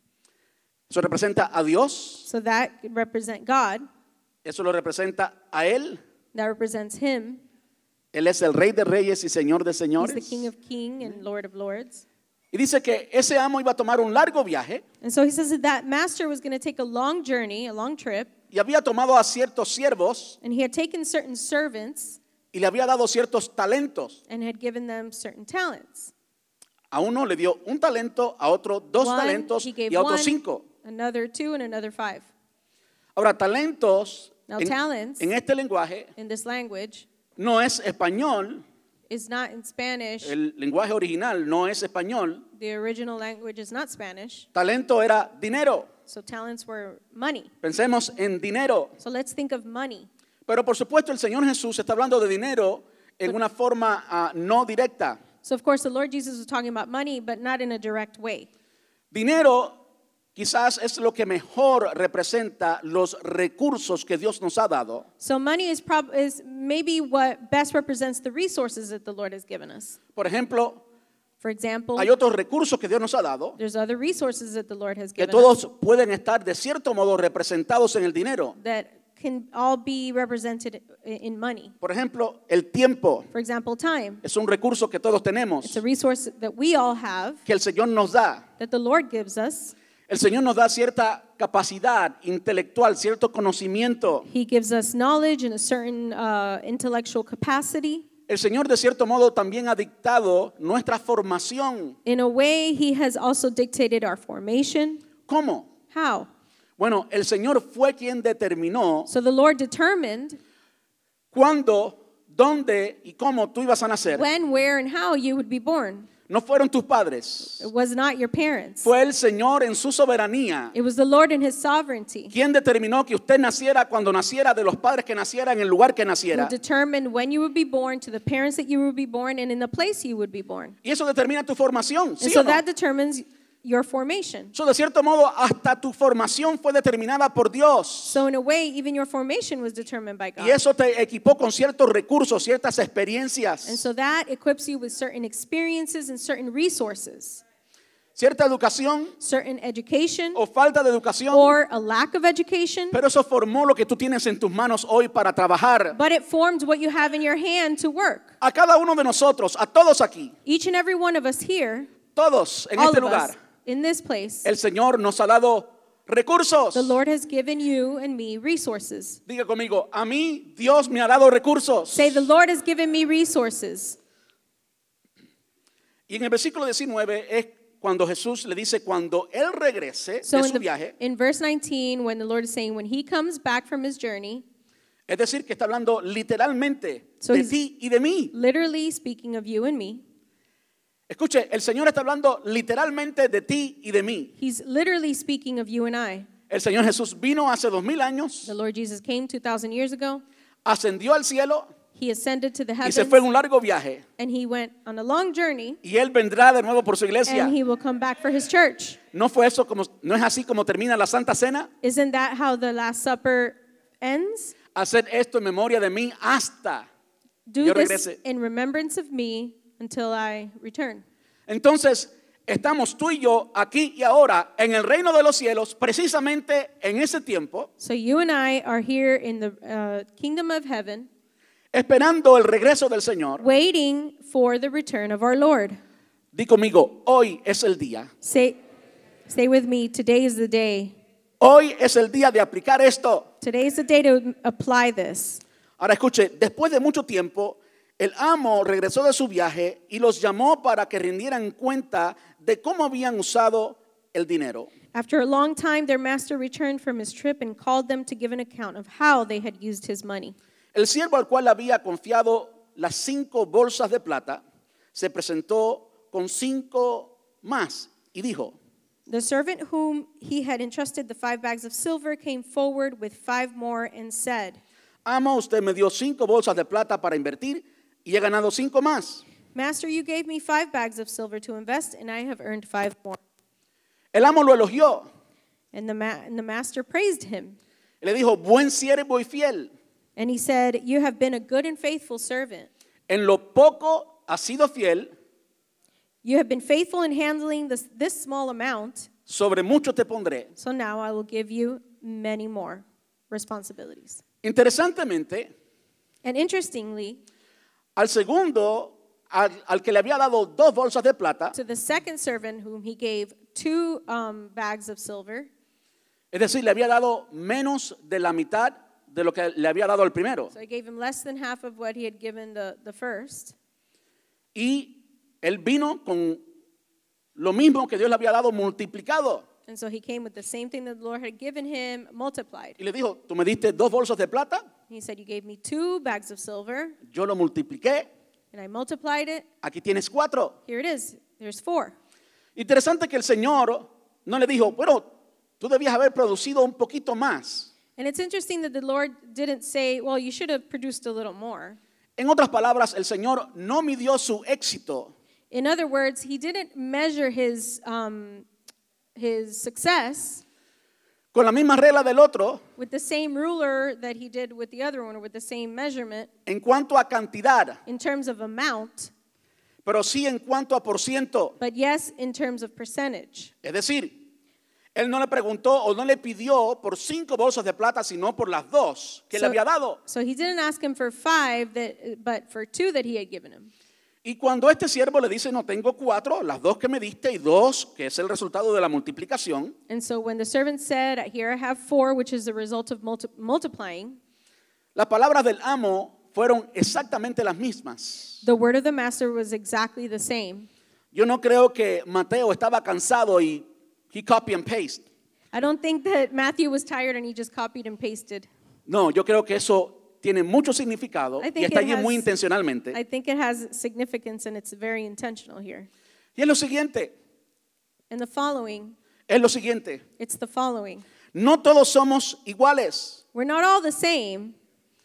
eso representa a Dios,
So that could represent God,
eso lo representa a Él.
that represents Him.
Él es el Rey de Reyes y Señor de
He's the
Señores.
King of Kings and Lord of Lords.
Y dice que ese amo iba a tomar un largo viaje
And so he says that that master was going to take a long journey, a long trip,
y había tomado a ciertos siervos
and he had taken certain servants
y le había dado ciertos talentos.
and had given them certain talents.
A uno le dio un talento, a otro dos
One,
talentos
he gave
y a otro
one,
cinco.
another two, and another five.
Ahora, talentos
Now,
en,
talents
en este lenguaje
in this language
no es español,
is not in Spanish.
el lenguaje original no es español.
The original language is not Spanish.
Talento era dinero.
So talents were money.
Pensemos en dinero.
So let's think of money.
Pero por supuesto el Señor Jesús está hablando de dinero en una forma ah, no directa.
So of course the Lord Jesus was talking about money, but not in a direct way.
Dinero quizás es lo que mejor representa los recursos que Dios nos ha dado.
So money is, prob- is maybe what best represents the resources that the Lord has given us.
Por ejemplo,
For example,
hay otros recursos que Dios nos ha dado
there's other resources that the Lord has
que
given us
todos pueden estar de cierto modo representados en el dinero.
that can all be represented i- in money.
Por ejemplo, el tiempo
For example, time.
es un recurso que todos tenemos,
It's a resource that we all have,
que el Señor nos da.
that the Lord gives us.
El Señor nos da cierta capacidad intelectual, cierto conocimiento.
He gives us knowledge and a certain uh, intellectual capacity.
El Señor de cierto modo también ha dictado nuestra formación.
In a way, He has also dictated our formation.
¿Cómo?
How?
Bueno, el Señor fue quien determinó
So the Lord determined
cuándo, dónde y cómo tú ibas a nacer.
when, where, and how you would be born.
No fueron tus padres.
It was not your parents.
Fue el Señor en su soberanía
It was the Lord in His sovereignty
quien determinó que usted naciera cuando naciera, de los padres que naciera, en el lugar que
who
naciera.
determined when you would be born, to the parents that you would be born, and in the place you would be born.
Y eso determina tu formación, ¿sí
And so
o no?
that determines your formation.
So, de cierto modo, hasta tu formación fue determinada por Dios.
So in a way, even your formation was determined by God.
Y eso te equipó con ciertos recursos, ciertas
And
experiencias,
so that equips you with certain experiences and certain resources,
cierta educación
certain education
o falta de educación.
or a lack of education.
Pero eso formó lo que tú tienes en tus manos hoy para trabajar.
But it formed what you have in your hand to work.
A cada uno de nosotros, a todos aquí,
Each and every one of us here,
todos en
all
este
of
lugar,
us in this place,
el Señor nos ha dado recursos.
the Lord has given you and me resources.
Diga conmigo, a mí Dios me ha dado recursos.
Say, the Lord has given me resources.
Y en el versículo diecinueve es cuando Jesús le dice, cuando Él regrese
So
de
in,
su
the,
viaje,
in verse nineteen, when the Lord is saying, when He comes back from His journey,
Es decir, que está hablando literalmente
So
de
he's-
ti y de mí.
Literally speaking of you and me.
Escuche, el Señor está hablando literalmente de ti y de mí.
He's literally speaking of you and I.
El Señor Jesús vino hace dos mil años,
The Lord Jesus came two thousand years ago.
ascendió al cielo
He ascended to the
y
heavens.
se fue en un largo viaje.
And he went on a long journey.
Y Él vendrá de nuevo por su iglesia.
And he will come back for his church.
¿No fue eso como, no es así como termina la Santa Cena?
Isn't that how the Last Supper ends?
Hacer esto en memoria de mí hasta
Do
yo
this
regrese.
in remembrance of me until I return.
Entonces, estamos tú y yo aquí y ahora en el reino de los cielos, precisamente en ese tiempo,
So you and I are here in the uh, kingdom of heaven,
esperando el regreso del Señor.
waiting for the return of our Lord.
Di conmigo, hoy es el día.
Say, stay with me. Today is the day.
Hoy es el día de aplicar esto.
Today is the day to apply this.
Ahora escuche, después de mucho tiempo, el amo regresó de su viaje y los llamó para que rindieran cuenta de cómo habían usado el dinero.
After a long time, their master returned from his trip and called them to give an account of how they had used his money.
El siervo al cual había confiado las cinco bolsas de plata se presentó con cinco más y dijo:
The servant whom he had entrusted the five bags of silver came forward with five more and said,
Amo, usted me dio cinco bolsas de plata para invertir y he ganado cinco más.
Master, you gave me five bags of silver to invest, and I have earned five more.
El amo lo elogió
And the, ma- and the master praised him.
y le dijo: Buen siervo y fiel.
And he said, You have been a good and faithful servant.
En lo poco has sido fiel,
You have been faithful in handling this, this small amount,
sobre mucho te pondré.
so now I will give you many more responsibilities.
Interesantemente,
And interestingly,
al segundo, al, al que le había dado dos bolsas de plata,
to the second servant whom he gave two um, bags of silver,
es decir, le había dado menos de la mitad de lo que le había dado al primero.
so he gave him less than half of what he had given the, the first.
Y él vino con lo mismo que Dios le había dado multiplicado.
And so he came with the same thing that the Lord had given him, multiplied.
Y le dijo: Tú me diste dos bolsas de plata,
He said, You gave me two bags of silver,
yo lo multipliqué,
and I multiplied it.
aquí tienes cuatro.
Here it is. There's four.
Interesante que el Señor no le dijo: Bueno, tú debías haber producido un poquito más.
And it's interesting that the Lord didn't say, Well, you should have produced a little more.
En otras palabras, el Señor no midió su éxito
In other words, he didn't measure his, um, his success
con la misma regla del otro
with the same ruler that he did with the other one, or with the same measurement
en cuanto a cantidad,
in terms of amount,
pero sí en cuanto a por ciento.
but yes, in terms of percentage.
Es decir, él no le preguntó o no le pidió por cinco bolsas de plata, sino por las dos que le
So-
había dado.
So he didn't ask him for five, that, but for two that he had given him.
Y cuando este siervo le dice: No, tengo cuatro, las dos que me diste y dos, que es el resultado de la multiplicación,
And so when the servant said, Here I have four, which is the result of multi- multiplying,
las palabras del amo fueron exactamente las mismas.
the word of the master was exactly the same.
Yo no creo que Mateo estaba cansado y he copy and paste.
I don't think that Matthew was tired and he just copied and pasted.
No, yo creo que eso tiene mucho significado
I
y
think
está
it
allí muy
has-
intencionalmente.
I think it has significance and it's very intentional here.
Y es lo siguiente,
And the following,
es lo siguiente.
it's the following.
No todos somos iguales.
We're not all the same.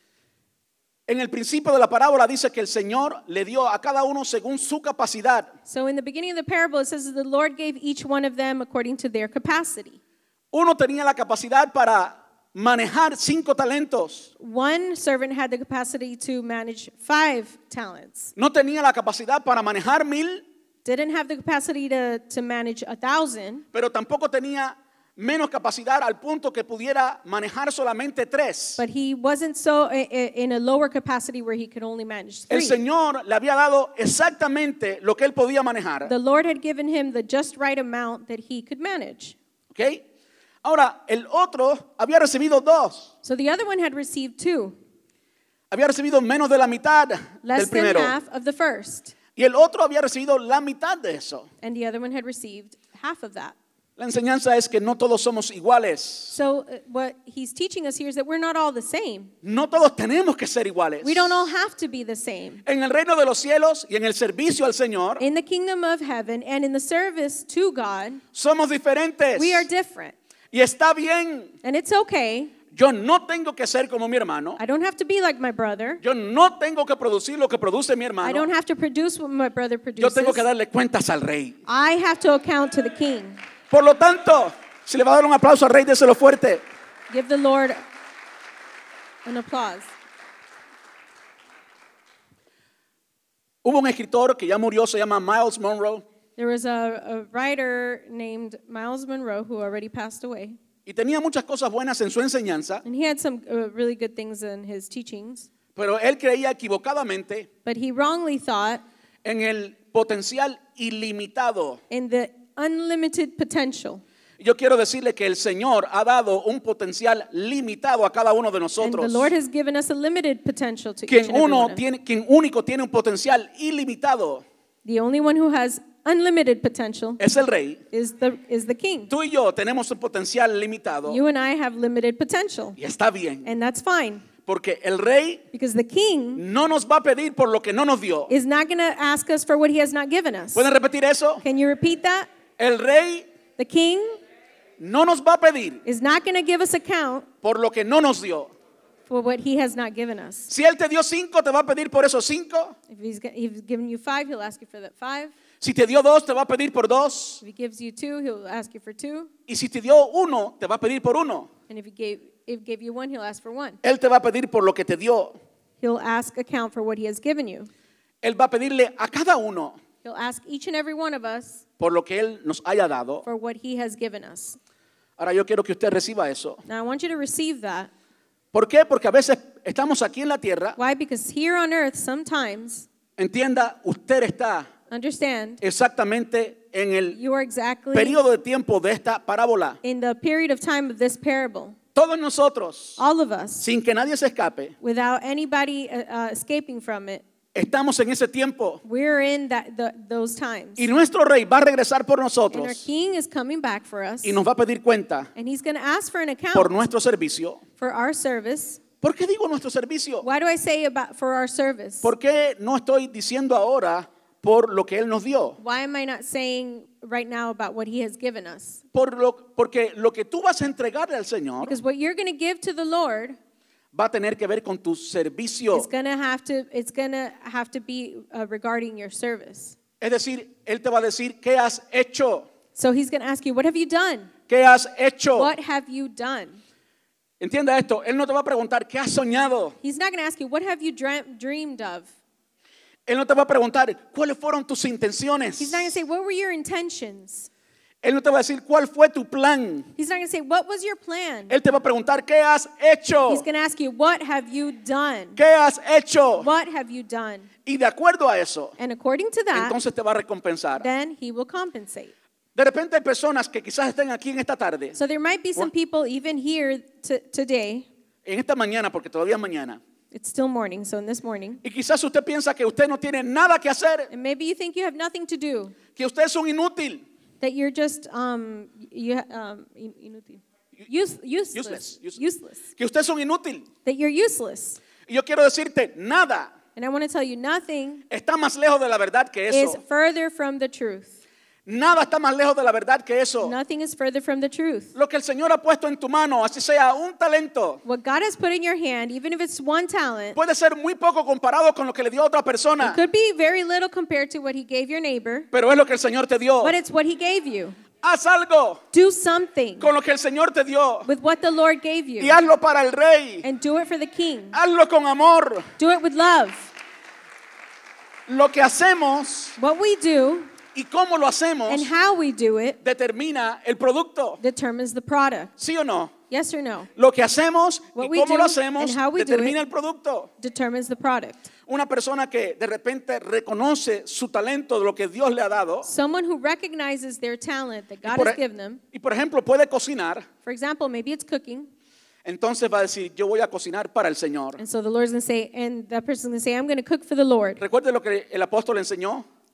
En el principio de la parábola dice que el Señor le dio a cada uno según su capacidad.
So in the beginning of the parable, it says that the Lord gave each one of them according to their capacity.
Uno tenía la capacidad para manejar cinco talentos.
One servant had the capacity to manage five talents.
No tenía la capacidad para manejar mil,
Didn't have the capacity to, to manage a thousand,
pero tampoco tenía menos capacidad al punto que pudiera manejar solamente tres.
but he wasn't so i- i- in a lower capacity where he could only manage
El
three.
Señor le había dado exactamente lo que él podía manejar.
The Lord had given him the just right amount that he could manage.
¿Ok? Ahora, el otro había recibido dos.
So the other one had received two,
Había recibido menos de la mitad
less
del
than
primero.
half of the first.
Y el otro había recibido la mitad de eso.
And the other one had received half of that.
La enseñanza es que no todos somos iguales.
So uh, what he's teaching us here is that we're not all the same.
No todos tenemos que ser iguales.
We don't all have to be the same.
En el reino de los cielos y en el servicio al Señor,
In the kingdom of heaven and in the service to God,
somos diferentes.
we are different.
Y está bien.
And it's okay.
Yo no tengo que ser como mi hermano.
I don't have to be like my brother.
Yo no tengo que producir lo que produce mi
I
hermano.
don't have to produce what my brother
Yo
produces.
tengo que darle cuentas al rey.
I have to account to the king.
Por lo tanto, si le va a dar un aplauso al rey, déselo fuerte.
Give the Lord an applause.
Hubo un escritor que ya murió, se llama Miles Monroe,
There was a, a writer named Miles Monroe who already passed away.
y tenía muchas cosas buenas en su enseñanza,
And he had some uh, really good things in his teachings.
pero él creía equivocadamente
But he wrongly thought
en el potencial ilimitado.
in the unlimited potential.
Yo quiero decirle que el Señor ha dado un potencial limitado a cada uno de
And
nosotros.
the Lord has given us a limited potential to each
Quien
and every
uno
one of us.
tiene, quien único tiene un potencial ilimitado
The only one who has unlimited potential
es el Rey.
is the, is the king.
Tú y yo tenemos un potencial limitado
You and I have limited potential.
y está bien,
And that's fine.
porque el Rey
Because the king
no nos va a pedir por lo que no nos dio.
is not going to ask us for what he has not given us.
¿Pueden repetir eso?
Can you repeat that?
El Rey
The king
no nos va a pedir
is not going to give us account
por lo que no nos dio.
for what he has not given us.
Si Él te dio cinco, te va a pedir por esos cinco.
If he's, g- if he's given you five, he'll ask you for that five.
Si te dio dos, te va a pedir por dos.
If he gives you two, he'll ask you for two.
Y si te dio uno, te va a pedir por uno.
And if he gave, if he gave you one, he'll ask for one.
Él te va a pedir por lo que te dio.
He'll ask account for what he has given you.
Él va a pedirle a cada uno
He'll ask each and every one of us
por lo que Él nos haya dado.
for what he has given us.
Ahora yo quiero que usted reciba eso.
Now I want you to receive that.
¿Por qué? Porque a veces estamos aquí en la tierra.
Why? Because here on earth, sometimes,
Entienda, usted está
understand,
exactamente en el
you are exactly
periodo de tiempo de esta parábola.
in the period of time of this parable.
Todos nosotros,
All of us,
sin que nadie se escape,
without anybody uh, uh, escaping from it,
estamos en ese tiempo.
we're in that the, those times.
Y nuestro Rey va a regresar por
And our
nosotros
king is coming back for us.
y nos va a pedir cuenta
And he's going to ask for an account
por nuestro servicio.
for our service.
¿Por qué digo nuestro servicio?
Why do I say about for our service?
¿Por qué no estoy diciendo ahora por lo que Él nos dio?
Why am I not saying right now about what he has given us?
Por lo, porque lo que tú vas a entregarle al Señor
Because what you're going to give to the Lord
va a tener que ver con tu servicio.
is going to have to it's going to have to be uh, regarding your service.
Es decir, Él te va a decir, ¿qué has hecho?
So he's going to ask you, what have you done?
¿Qué has hecho?
What have you done?
Entienda esto, Él no te va a preguntar, ¿qué has soñado?
He's not going to ask you, what have you dream, dreamed of?
Él no te va a preguntar, ¿cuáles fueron tus intenciones?
He's not going to say, what were your intentions?
Él no te va a decir, ¿cuál fue tu plan?
He's not going to say, what was your plan?
Él te va a preguntar, ¿qué has hecho?
He's going to ask you, what have you done?
¿Qué has hecho?
What have you done?
Y de acuerdo a eso,
And according to that,
entonces te va a recompensar.
then he will compensate.
De repente hay personas que quizás estén aquí en esta tarde,
So there might be some people even here t- today.
en esta mañana, porque todavía es mañana,
It's still morning, so in this morning.
y quizás usted piensa que usted no tiene nada que hacer,
And maybe you think you have nothing to do,
que usted es un inútil.
that you're just um, you, um, in- inútil. Use, useless,
Useless, useless.
useless,
Que usted es un inútil.
that you're useless.
Y yo quiero decirte, nada
And I want to tell you, nothing
está más lejos de la verdad que
is
eso.
further from the truth.
Nada está más lejos de la verdad que eso.
Nothing is further from the truth.
Lo que el Señor ha puesto en tu mano, así sea un talento,
What God has put in your hand, even if it's one talent,
puede ser muy poco comparado con lo que le dio a otra persona,
it could be very little compared to what He gave your neighbor,
pero es lo que el Señor te dio.
but it's what He gave you.
Haz algo
Do something
con lo que el Señor te dio
with what the Lord gave
y
you,
hazlo para el Rey.
and do it for the King.
Hazlo con amor.
Do it with love.
Lo que hacemos
What we do
y cómo lo hacemos
and how we do it
determina el producto.
determines the product.
¿Sí o no?
Yes or no?
Lo que hacemos y
What we
cómo
do
lo hacemos
and how we do
determina
it
el producto.
determines the product.
Una persona que de repente reconoce su talento de lo que Dios le ha dado
Someone who recognizes their talent that
y
God
por,
has given them,
y por ejemplo puede cocinar,
for example, maybe it's cooking,
entonces va a decir, yo voy a cocinar para el Señor.
and so the Lord's going to say, and that person's going to say, I'm going to cook for the Lord.
Recuerde lo que el apóstol enseñó.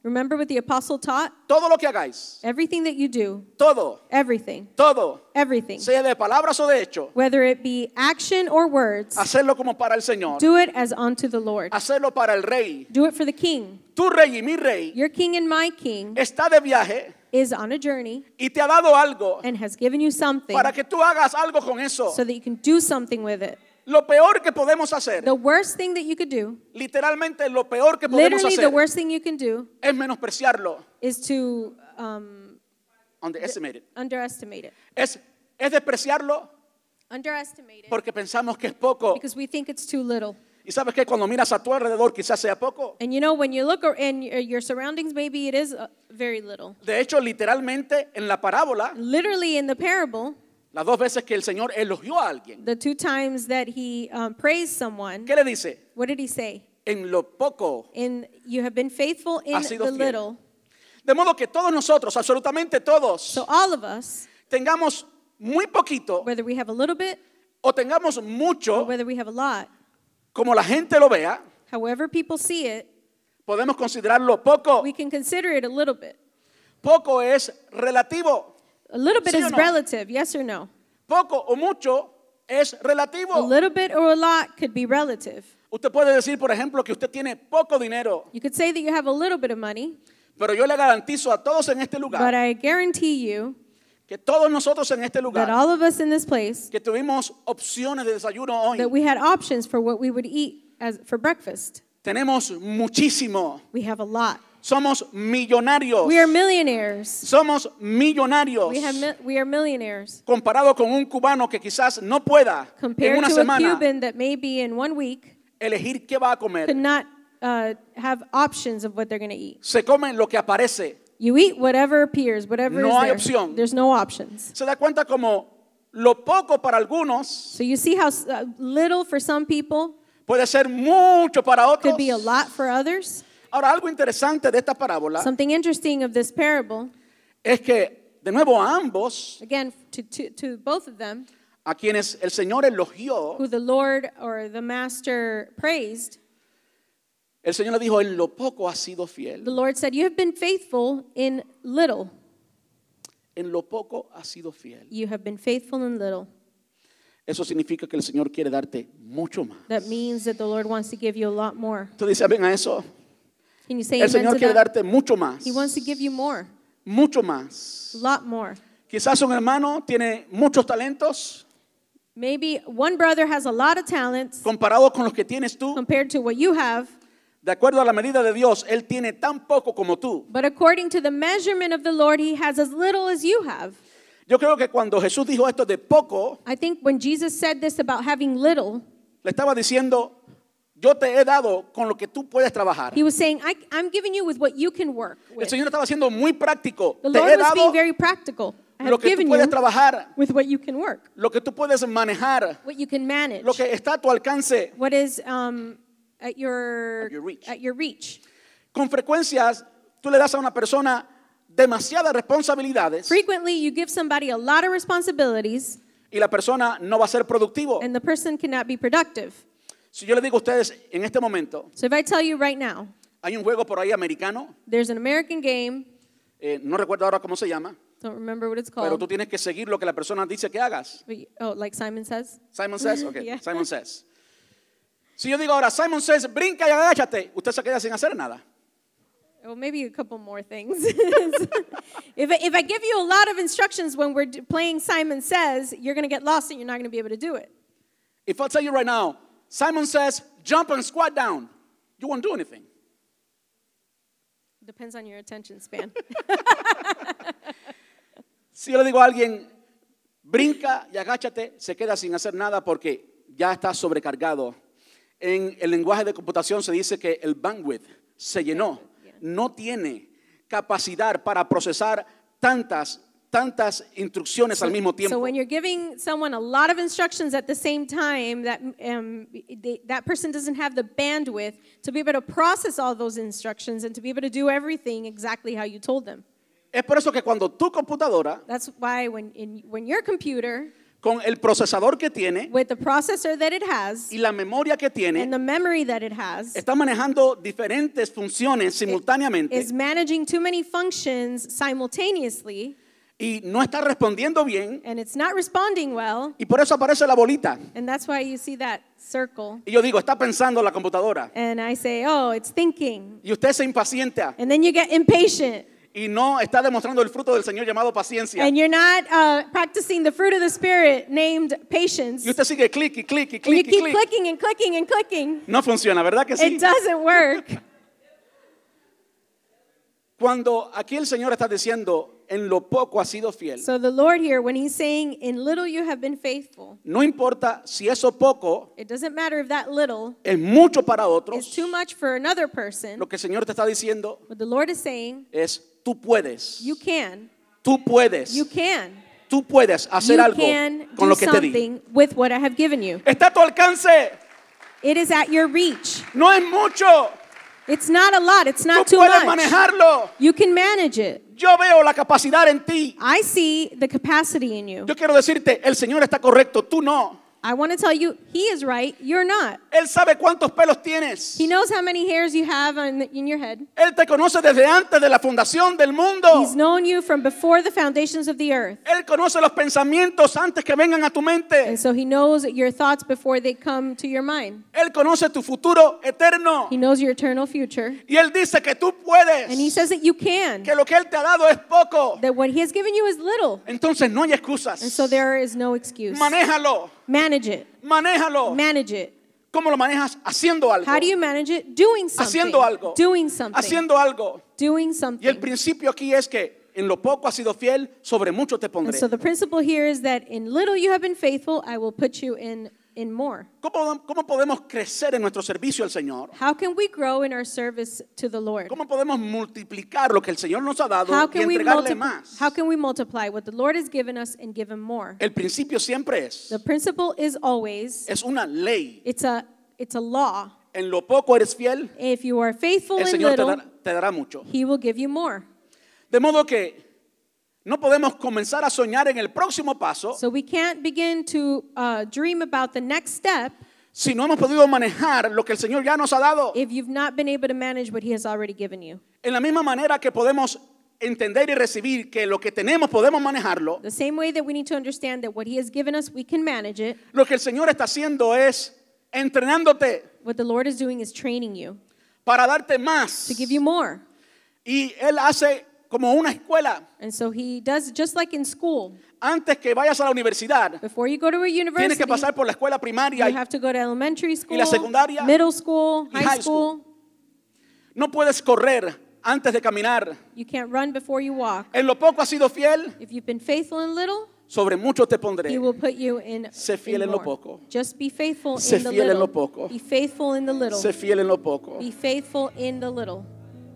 Remember what the apostle taught?
todo lo que hagáis,
Everything that you do,
todo,
everything,
todo,
everything,
sea de palabras o de hecho,
whether it be action or words,
hacerlo como para el Señor,
do it as unto the Lord.
hacerlo para el Rey.
Do it for the King.
Tu Rey y mi Rey
Your King and my King
está de viaje
is on a journey
y te ha dado algo
and has given you something
para que tú hagas algo con eso.
so that you can do something with it.
Lo peor que podemos hacer,
The worst thing that you could do,
literalmente lo peor que podemos
literally the
hacer,
worst thing you can do,
es menospreciarlo,
is to um,
underestimate it.
underestimate it.
Es, es despreciarlo
Underestimate it
porque pensamos que es poco.
because we think it's too little.
Y sabes que cuando miras a tu alrededor quizás sea poco.
And you know, when you look ar- in your your surroundings, maybe it is uh, very little.
De hecho, literalmente en la parábola,
Literally in the parable,
las dos veces que el Señor elogió a alguien,
the two times that he um, praised someone,
¿qué le dice?
what did he say?
En lo poco.
In you have been faithful in
Has sido
the
fiel.
little.
De modo que todos nosotros, absolutamente todos,
So all of us,
tengamos muy poquito
whether we have a little bit
o tengamos
or
mucho,
whether we have a lot,
como la gente lo vea,
however people see it,
podemos considerarlo poco.
we can consider it a little bit.
Poco es relativo.
A little bit
¿Sí o
is
no?
relative, yes or no?
Poco o mucho es
A
relativo.
little bit or a lot could be relative.
Usted puede decir, por ejemplo, que usted tiene poco dinero,
You could say that you have a little bit of money,
pero yo le garantizo a todos en este
but
lugar,
I guarantee you
que todos nosotros en este
that
lugar,
all of us in this place,
que tuvimos opciones de desayuno hoy,
that we had options for what we would eat as for breakfast.
tenemos muchísimo.
We have a lot.
Somos millonarios.
We are millionaires.
Somos millonarios.
We have mi- we are millionaires
Comparado con un cubano que quizás no pueda en
compared
una
to a
semana
Cuban that maybe in one week
elegir qué va a comer.
could not uh, have options of what they're going to eat.
Se come lo que aparece.
You eat whatever appears, whatever
No
is
hay
there.
opción.
There's no options.
Se da cuenta como lo poco para algunos
So you see how s- uh, little for some people
puede ser mucho para otros.
could be a lot for others.
Ahora, algo interesante de esta parábola
Something interesting of this parable,
es que, de nuevo, a ambos,
again, to, to, to both of them,
a quienes el Señor elogió,
who the Lord or the Master praised,
el Señor le dijo, en lo poco has sido fiel.
the Lord said, you have been faithful in little.
En lo poco has sido fiel.
You have been faithful in little.
Eso significa que el Señor quiere darte mucho más.
That means that the Lord wants to give you a lot more.
Tú dices, ven a eso.
Can you say
El
amen
Señor
to
quiere
that?
darte mucho más.
He wants to give you more,
Mucho más.
a lot more.
Quizás un hermano tiene muchos talentos
Maybe one brother has a lot of talents
comparados con los que tienes tú.
compared to what you have,
De acuerdo a la medida de Dios, Él tiene tan poco como tú.
but according to the measurement of the Lord, he has as little as you have.
Yo creo que cuando Jesús dijo esto de poco,
I think when Jesus said this about having little,
le estaba diciendo, yo te he dado con lo que tú puedes trabajar.
he was saying, I, I'm giving you with what you can work
El
with.
Señor estaba siendo muy práctico.
The
Te
Lord
he
was
dado
being very practical. I
lo
have
que tú
given
puedes
you
trabajar,
with what you can work,
lo que tú puedes manejar,
what you can manage,
lo que está a tu alcance.
what is um, at your
At your reach.
at your reach.
Con frecuencias, tú le das a una persona demasiadas responsabilidades
Frequently, you give somebody a lot of responsibilities,
y la persona no va a ser productivo.
and the person cannot be productive.
Si yo le digo a ustedes en este momento,
So if I tell you right now,
hay un juego por ahí americano,
there's an American game,
eh, no recuerdo ahora cómo se llama,
don't remember what it's
pero
called.
tú tienes que seguir lo que la persona dice que hagas.
but you- oh, like Simon says.
Simon says, ok,
Yeah.
Simon says. Si yo digo ahora, Simon says, brinca y agáchate, usted se queda sin hacer nada.
Well, maybe a couple more things. if, I, if I give you a lot of instructions when we're d- playing Simon Says, you're going to get lost and you're not going to be able to do it.
If I tell you right now, Simon says, jump and squat down, you won't do anything.
Depends on your attention span.
Si yo le digo a alguien, brinca y agáchate, se queda sin hacer nada porque ya está sobrecargado. En el lenguaje de computación se dice que el bandwidth se llenó. No tiene capacidad para procesar tantas, tantas instrucciones al mismo
So
tiempo.
when you're giving someone a lot of instructions at the same time, that um, they, that person doesn't have the bandwidth to be able to process all those instructions and to be able to do everything exactly how you told them.
Es por eso que cuando tu computadora
That's why when in when your computer
con el procesador que tiene
with the processor that it has
y la memoria que tiene,
and the memory that it has,
está manejando diferentes funciones simultáneamente
is managing too many functions simultaneously,
y no está respondiendo bien,
and it's not responding well,
y por eso aparece la bolita.
and that's why you see that circle.
Y yo digo, está pensando la computadora.
And I say, oh, it's thinking.
Y usted se impacienta
And then you get impatient.
y no está demostrando el fruto del Señor llamado paciencia.
And you're not uh, practicing the fruit of the Spirit named patience.
Y usted sigue clic y clic y
And you
clic y
keep
clic.
clicking and clicking and clicking.
No funciona, ¿verdad que sí?
It doesn't work.
Cuando aquí el Señor está diciendo, en lo poco has sido fiel.
So the Lord here, when he's saying, in little you have been faithful,
No importa si eso poco
it doesn't matter if that little
es mucho para
is
otros.
too much for another person.
Lo que el Señor te está diciendo
What the Lord is saying,
es, tú puedes,
you can,
tú puedes,
you can,
tú puedes hacer
you
algo
can
con
do
lo que te di.
something with what I have given you.
Está a tu alcance,
It is at your reach.
no es mucho,
It's not a lot. It's not
tú
too
puedes
much.
manejarlo.
You can manage it.
Yo veo la capacidad en ti.
I see the capacity in you.
Yo quiero decirte, el Señor está correcto, tú no.
I want to tell you, he is right. You're not.
Él sabe cuántos pelos tienes.
He knows how many hairs you have on, in your head.
Él te conoce desde antes de la fundación del mundo.
He's known you from before the foundations of the earth.
Él conoce los pensamientos antes que vengan a tu mente.
And so he knows your thoughts before they come to your mind.
Él conoce tu futuro eterno.
He knows your eternal future.
Y Él dice que tú puedes.
And he says that you can.
Que lo que Él te ha dado es poco.
That what he has given you is little.
Entonces no hay excusas.
And so there is no excuse.
Manéjalo.
Manage it.
Manéjalo.
Manage it.
¿Cómo lo manejas? Haciendo algo.
How do you manage it? Doing something.
Haciendo algo.
Doing something.
Haciendo algo.
Doing
Y el
something.
principio aquí es que en lo poco has sido fiel, sobre mucho te
And
pondré.
so the principle here is that in little you have been faithful, I will put you in, in more.
¿Cómo, ¿Cómo podemos crecer en nuestro servicio al Señor?
How can we grow in our service to the Lord?
¿Cómo podemos multiplicar lo que el Señor nos ha dado
How
y
can we
entregarle
multiply?
más?
How can we multiply what the Lord has given us and give him more?
El principio siempre es,
The principle is always
es una ley.
it's a it's a law.
En lo poco eres fiel,
If you are faithful
el
in
Señor te
little,
dará, te dará mucho.
he will give you more.
De modo que no podemos comenzar a soñar en el próximo paso
So we can't begin to uh, dream about the next step
si no hemos podido manejar lo que el Señor ya nos ha dado.
if you've not been able to manage what he has already given you.
En la misma manera que podemos entender y recibir que lo que tenemos podemos manejarlo,
The same way that we need to understand that what he has given us, we can manage it.
lo que el Señor está haciendo es entrenándote
What the Lord is doing is training you
para darte más.
to give you more.
Y Él hace como una escuela.
And so he does just like in school.
Antes que vayas a la universidad,
Before you go to a
tienes
university,
que pasar por la escuela primaria.
you
Y
have to go to elementary school,
la secundaria,
middle school,
y
high
high
school.
no puedes correr antes de caminar.
You can't run before you walk.
En lo poco has sido fiel,
If you've been faithful in little,
sobre mucho te pondré.
he will put you in,
Sé fiel
in
en lo
more.
poco.
Just be faithful
Sé
in the
fiel en lo
little.
poco.
Be faithful in the little.
Sé fiel en lo poco.
Be faithful in the little.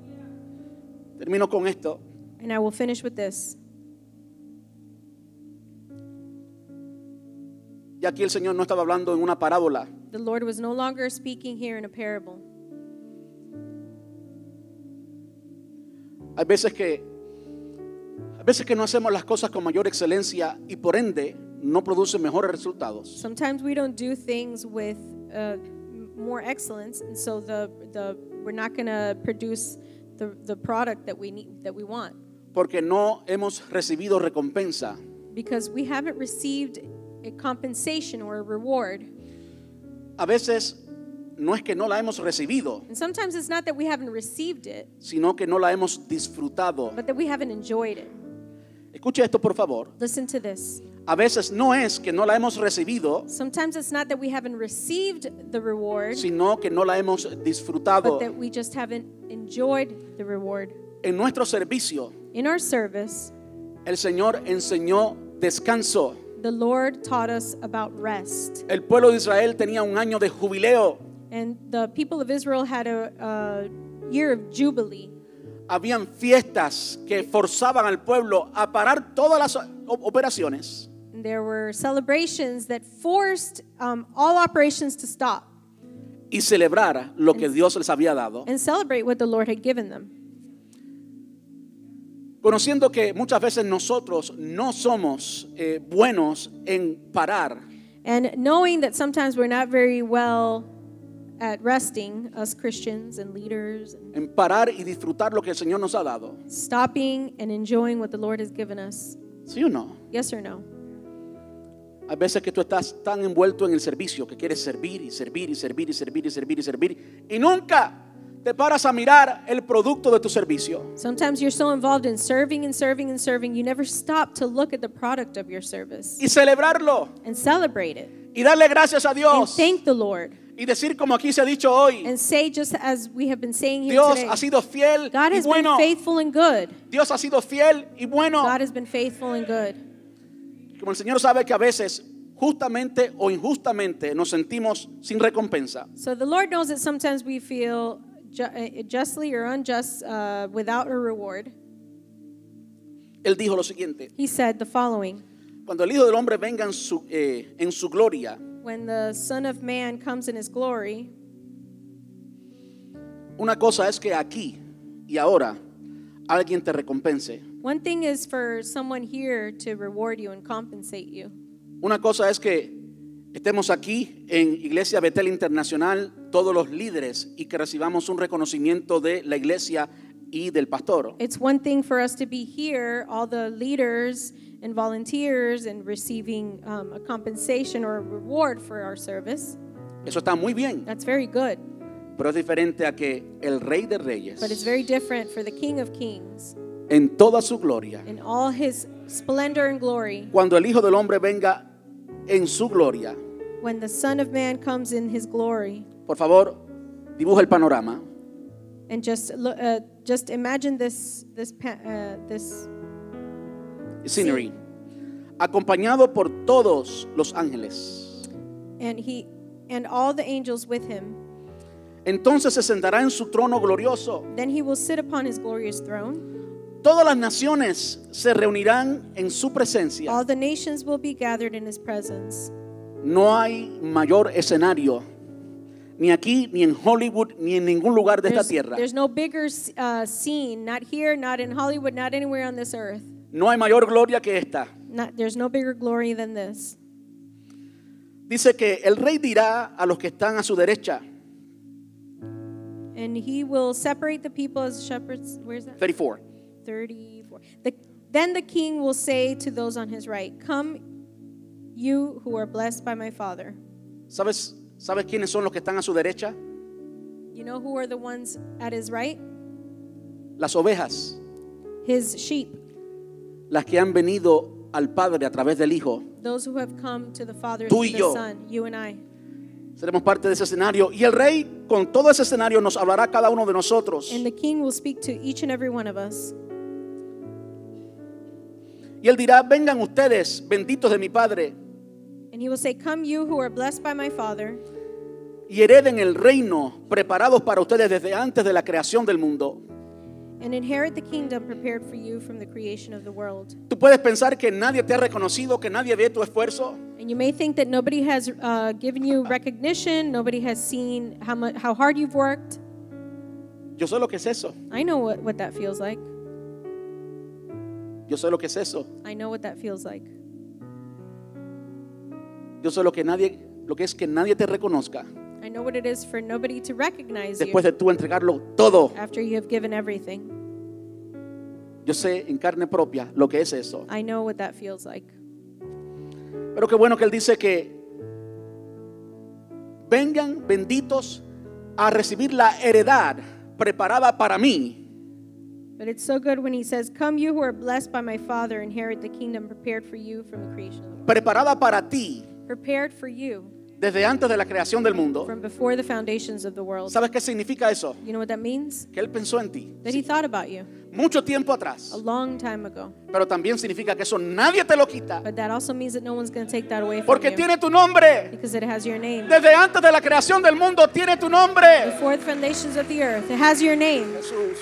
Termino con esto.
And I will finish with this.
Y aquí el Señor no estaba hablando en una parábola.
The Lord was no longer speaking here in a parable.
Hay veces que hay veces que no hacemos las cosas con mayor excelencia y por ende no produce mejores resultados.
Sometimes we don't do things with uh, m- more excellence, and so the the we're not going to produce the the product that we need that we want
Porque no hemos recibido recompensa.
because we haven't received a compensation or a reward.
A veces no es que no la hemos recibido,
And sometimes it's not that we haven't received it,
sino que no la hemos disfrutado.
but that we haven't enjoyed it.
Escuche esto, por favor.
Listen to this.
A veces no es que no la hemos recibido,
Sometimes it's not that we haven't received the reward,
sino que no la hemos disfrutado.
but that we just haven't enjoyed the reward.
En nuestro servicio,
In our service,
el Señor enseñó descanso.
the Lord taught us about rest.
El pueblo de Israel tenía un año de jubileo.
And the people of Israel had a, a year of jubilee.
Habían fiestas que forzaban al pueblo a parar todas las o- operaciones
And there were celebrations that forced um, all operations to stop
y celebrar lo que Dios les había dado.
and celebrate what the Lord had given them.
Conociendo que muchas veces nosotros no somos eh, buenos en parar,
And knowing that sometimes we're not very well at resting, us Christians and leaders, and
en parar y disfrutar lo que el Señor nos ha dado.
stopping and enjoying what the Lord has given us.
¿Sí o no?
Yes or no?
Hay veces que tú estás tan envuelto en el servicio que quieres servir y servir y servir y servir y servir y servir y nunca te paras a mirar el producto de tu servicio.
Sometimes you're so involved in serving and serving and serving, you never stop to look at the product of your service
Y celebrarlo
and celebrate it
y darle gracias a
and
Dios
thank the Lord
y decir como aquí se ha dicho hoy,
and say, just as we have been saying here
Dios
today,
ha sido fiel
God
y
has
bueno.
been faithful and good.
Dios ha sido fiel y bueno.
God has been faithful and good.
Como el Señor sabe que a veces justamente o injustamente nos sentimos sin recompensa.
So the Lord knows that sometimes we feel ju- uh, justly or unjust uh, without a reward.
Él dijo lo siguiente:
He said the following:
cuando el Hijo del Hombre venga en su, eh, en su gloria,
when the Son of Man comes in his glory,
una cosa es que aquí y ahora alguien te recompense.
one thing is for someone here to reward you and compensate you.
Una cosa es que estemos aquí en Iglesia Betel Internacional, todos los líderes, y que recibamos un reconocimiento de la iglesia y del pastor.
It's one thing for us to be here, all the leaders and volunteers, and receiving um, a compensation or a reward for our service.
Eso está muy bien,
That's very good.
pero es diferente a que el Rey de Reyes,
But it's very different for the King of Kings,
en toda su gloria,
in all his splendor and glory,
cuando el Hijo del Hombre venga en su gloria,
when the Son of Man comes in his glory.
por favor, dibuja el panorama.
And just look, uh, just imagine this this pa- uh, this
Scenery, acompañado por todos los ángeles.
and he and all the angels with him.
Entonces se sentará en su trono glorioso.
Then he will sit upon his glorious throne.
Todas las naciones se reunirán en su presencia.
All the nations will be gathered in his presence.
No hay mayor escenario, ni aquí, ni en Hollywood, ni en ningún lugar de esta
There's,
tierra.
there's no bigger uh, scene, not here, not in Hollywood, not anywhere on this earth.
No hay mayor gloria que esta.
Not, there's no bigger glory than this.
Dice que el rey dirá a los que están a su derecha,
And he will separate the people as shepherds. Where's that?
treinta y cuatro.
thirty-four. The, then the king will say to those on his right, "Come, you who are blessed by my Father."
¿Sabes, ¿Sabes quiénes son los que están a su derecha?
You know who are the ones at his right?
Las ovejas,
His sheep,
las que han venido al Padre a través del Hijo.
those who have come to the Father
Tú
through
y
the
yo.
Son, you and I.
Seremos parte de ese escenario. Y el rey, con todo ese escenario, nos hablará a cada uno de nosotros.
And the king will speak to each and every one of us.
Y él dirá, vengan ustedes, benditos de mi Padre,
And he will say, "Come, you who are blessed by my Father,
y hereden el reino preparados para ustedes desde antes de la creación del mundo.
and inherit the kingdom prepared for you from the creation of the world."
Tú puedes pensar que nadie te ha reconocido, que nadie ve tu esfuerzo.
And you may think that nobody has uh, given you recognition, nobody has seen how much, how hard you've worked.
Yo sé lo que es eso.
I know what, what that feels like.
Yo sé lo que es eso.
I know what that feels like.
Yo sé lo que nadie, lo que es que nadie te reconozca
I know what it is for nobody to recognize you
después de tú entregarlo todo.
after you have given everything.
Yo sé en carne propia lo que es eso.
I know what that feels like.
Pero qué bueno que él dice que vengan benditos a recibir la heredad preparada para mí.
But it's so good when he says, "Come, you who are blessed by my Father, inherit the kingdom prepared for you from the creation of the world."
Preparada para ti
Prepared for you
desde antes de la creación del mundo.
from before the foundations of the world.
¿Sabes qué significa eso?
You know what that means?
Que él pensó en ti
That he thought about you
mucho tiempo atrás.
a long time ago.
Pero también significa que eso nadie te lo quita,
But that also means that no one's going to take that away from
porque
you
tiene tu nombre.
because it has your name.
Desde antes de la creación del mundo tiene tu nombre.
Before the foundations of the earth, it has your name.
Jesús.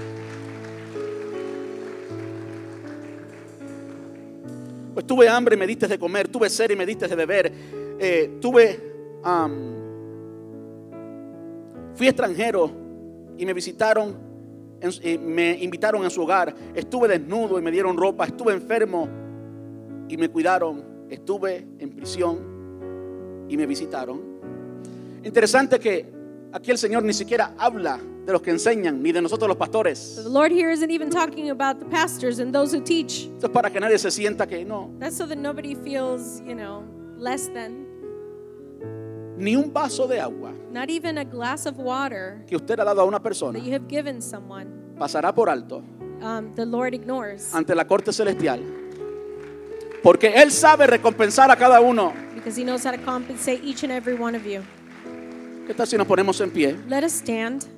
Pues tuve hambre y me diste de comer, tuve sed y me diste de beber, eh, tuve, um, fui extranjero y me visitaron, en- eh, me invitaron a su hogar. Estuve desnudo y me dieron ropa. Estuve enfermo y me cuidaron. Estuve en prisión y me visitaron. Interesante que aquí el Señor ni siquiera habla de los que enseñan, ni de nosotros los pastores.
So the Lord here isn't even talking about the pastors and those who teach.
Esto es para que nadie se sienta que no.
That's so that nobody feels, you know, less than.
Ni un vaso de agua
Not even a glass of water
que usted ha dado a una persona
that you have given someone,
pasará por alto
um, the Lord ignores.
ante la corte celestial, porque Él sabe recompensar a cada uno.
Because he knows how to compensate each and every one of you.
¿Qué tal si nos ponemos en pie?
Let us stand.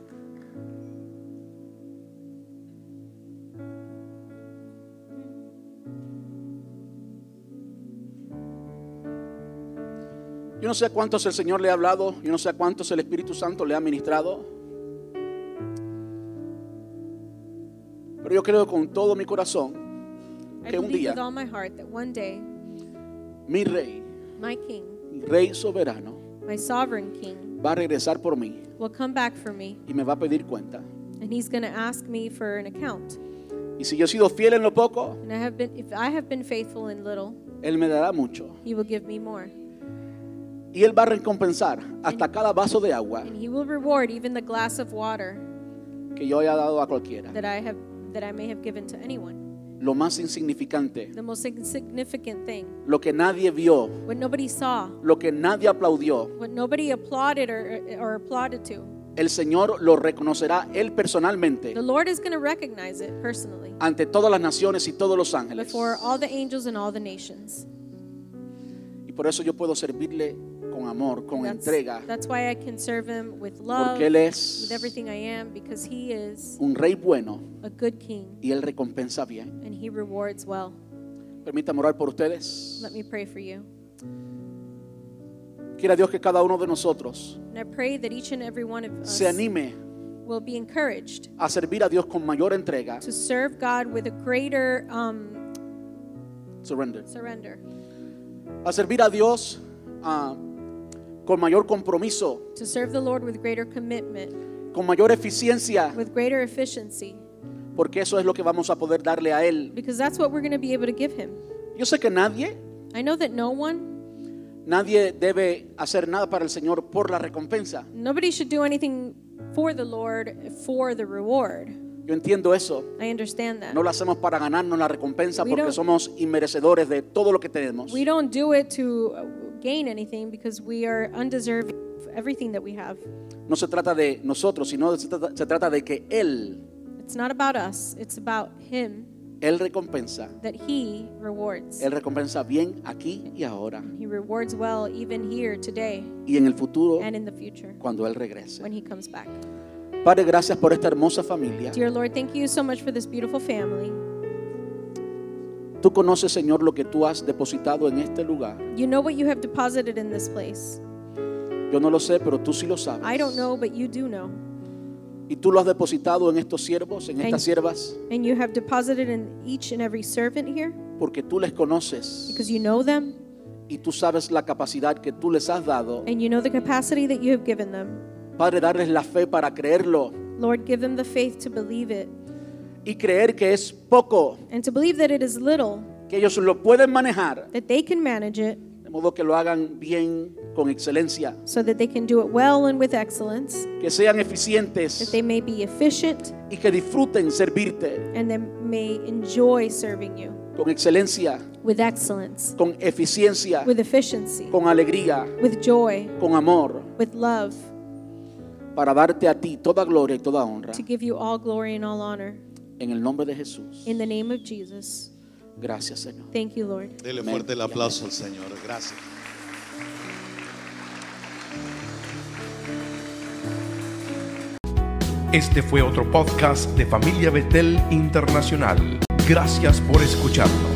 Yo no sé a cuántos el Señor le ha hablado, yo no sé a cuántos el Espíritu Santo le ha ministrado, pero yo creo con todo mi corazón
I
que un
believe
día
with all my heart that one day
mi Rey,
my King,
mi Rey soberano,
my sovereign King,
va a regresar por mí
will come back for me,
y me va a pedir cuenta.
and he's going to ask me for an account.
Y si yo he sido fiel en lo poco,
And I have been, if I have been faithful in little,
Él me dará mucho.
he will give me more.
Y Él va a recompensar hasta cada vaso de agua
And he will reward even the glass of water
que yo haya dado a cualquiera.
that I have, that I may have given to anyone.
Lo más insignificante,
The most insignificant thing,
lo que nadie vio,
what nobody saw,
lo que nadie aplaudió,
what nobody applauded or, or applauded to.
el Señor lo reconocerá Él personalmente
The Lord is going to recognize it personally
ante todas las naciones y todos los ángeles.
before all the angels and all the nations.
Y por eso yo puedo servirle con amor, con
That's,
entrega,
that's why I can serve him with love,
porque Él es
with everything I am, because he is
un Rey bueno
a good king
y Él recompensa bien.
and he rewards well.
Permítame orar por ustedes.
Let me pray for you.
Quiera Dios que cada uno de nosotros
And I pray that each and every one of us
se anime
will be encouraged
a servir a Dios con mayor entrega.
to serve God with a greater um,
Surrender.
surrender,
A servir a Dios ah, con mayor compromiso,
to serve the Lord with greater commitment,
con mayor eficiencia,
with greater efficiency,
porque eso es lo que vamos a poder darle a Él.
because that's what we're going to be able to give him.
Yo sé que nadie,
I know that no one,
nadie debe hacer nada para el Señor por la recompensa.
nobody should do anything for the Lord for the reward.
Yo entiendo eso.
I understand that.
No lo hacemos para ganarnos la recompensa
We
porque
don't-
somos inmerecedores de todo lo que tenemos.
We don't do it to uh, gain anything because we are undeserving of everything that we have.
No se trata de nosotros, sino se trata, se trata de que Él,
It's not about us, it's about him,
Él recompensa.
that he rewards.
Él recompensa bien aquí y ahora
He rewards well even here today
y en el futuro
and in the future
cuando Él regrese.
when he comes back.
Padre, gracias por esta hermosa familia.
Dear Lord, thank you so much for this beautiful family.
Tú conoces, Señor, lo que tú has depositado en este lugar.
You know what you have deposited in this place.
Yo no lo sé, pero tú sí lo sabes.
I don't know, but you do know.
Y tú lo has depositado en estos siervos, en estas siervas,
And you have deposited in each and every servant here
porque tú les conoces
because you know them
y tú sabes la capacidad que tú les has dado.
and you know the capacity that you have given them.
Padre, darles la fe para creerlo
Lord, give them the faith to believe it
y creer que es poco,
and to believe that it is little,
que ellos lo pueden manejar,
that they can manage it
de modo que lo hagan bien, con excelencia,
so that they can do it well and with excellence,
que sean
that
eficientes
they may be efficient
y que disfruten servirte
and they may enjoy serving you
con excelencia,
with excellence,
con eficiencia,
with efficiency,
con alegría,
with joy,
con amor,
with love,
para darte a ti toda gloria y toda honra.
to give you all glory and all honor.
En el nombre de Jesús.
In the name of Jesus.
Gracias, Señor.
Thank you, Lord.
Dele
Amén.
fuerte el aplauso al Señor. Gracias.
Este fue otro podcast de Familia Betel Internacional. Gracias por escucharnos.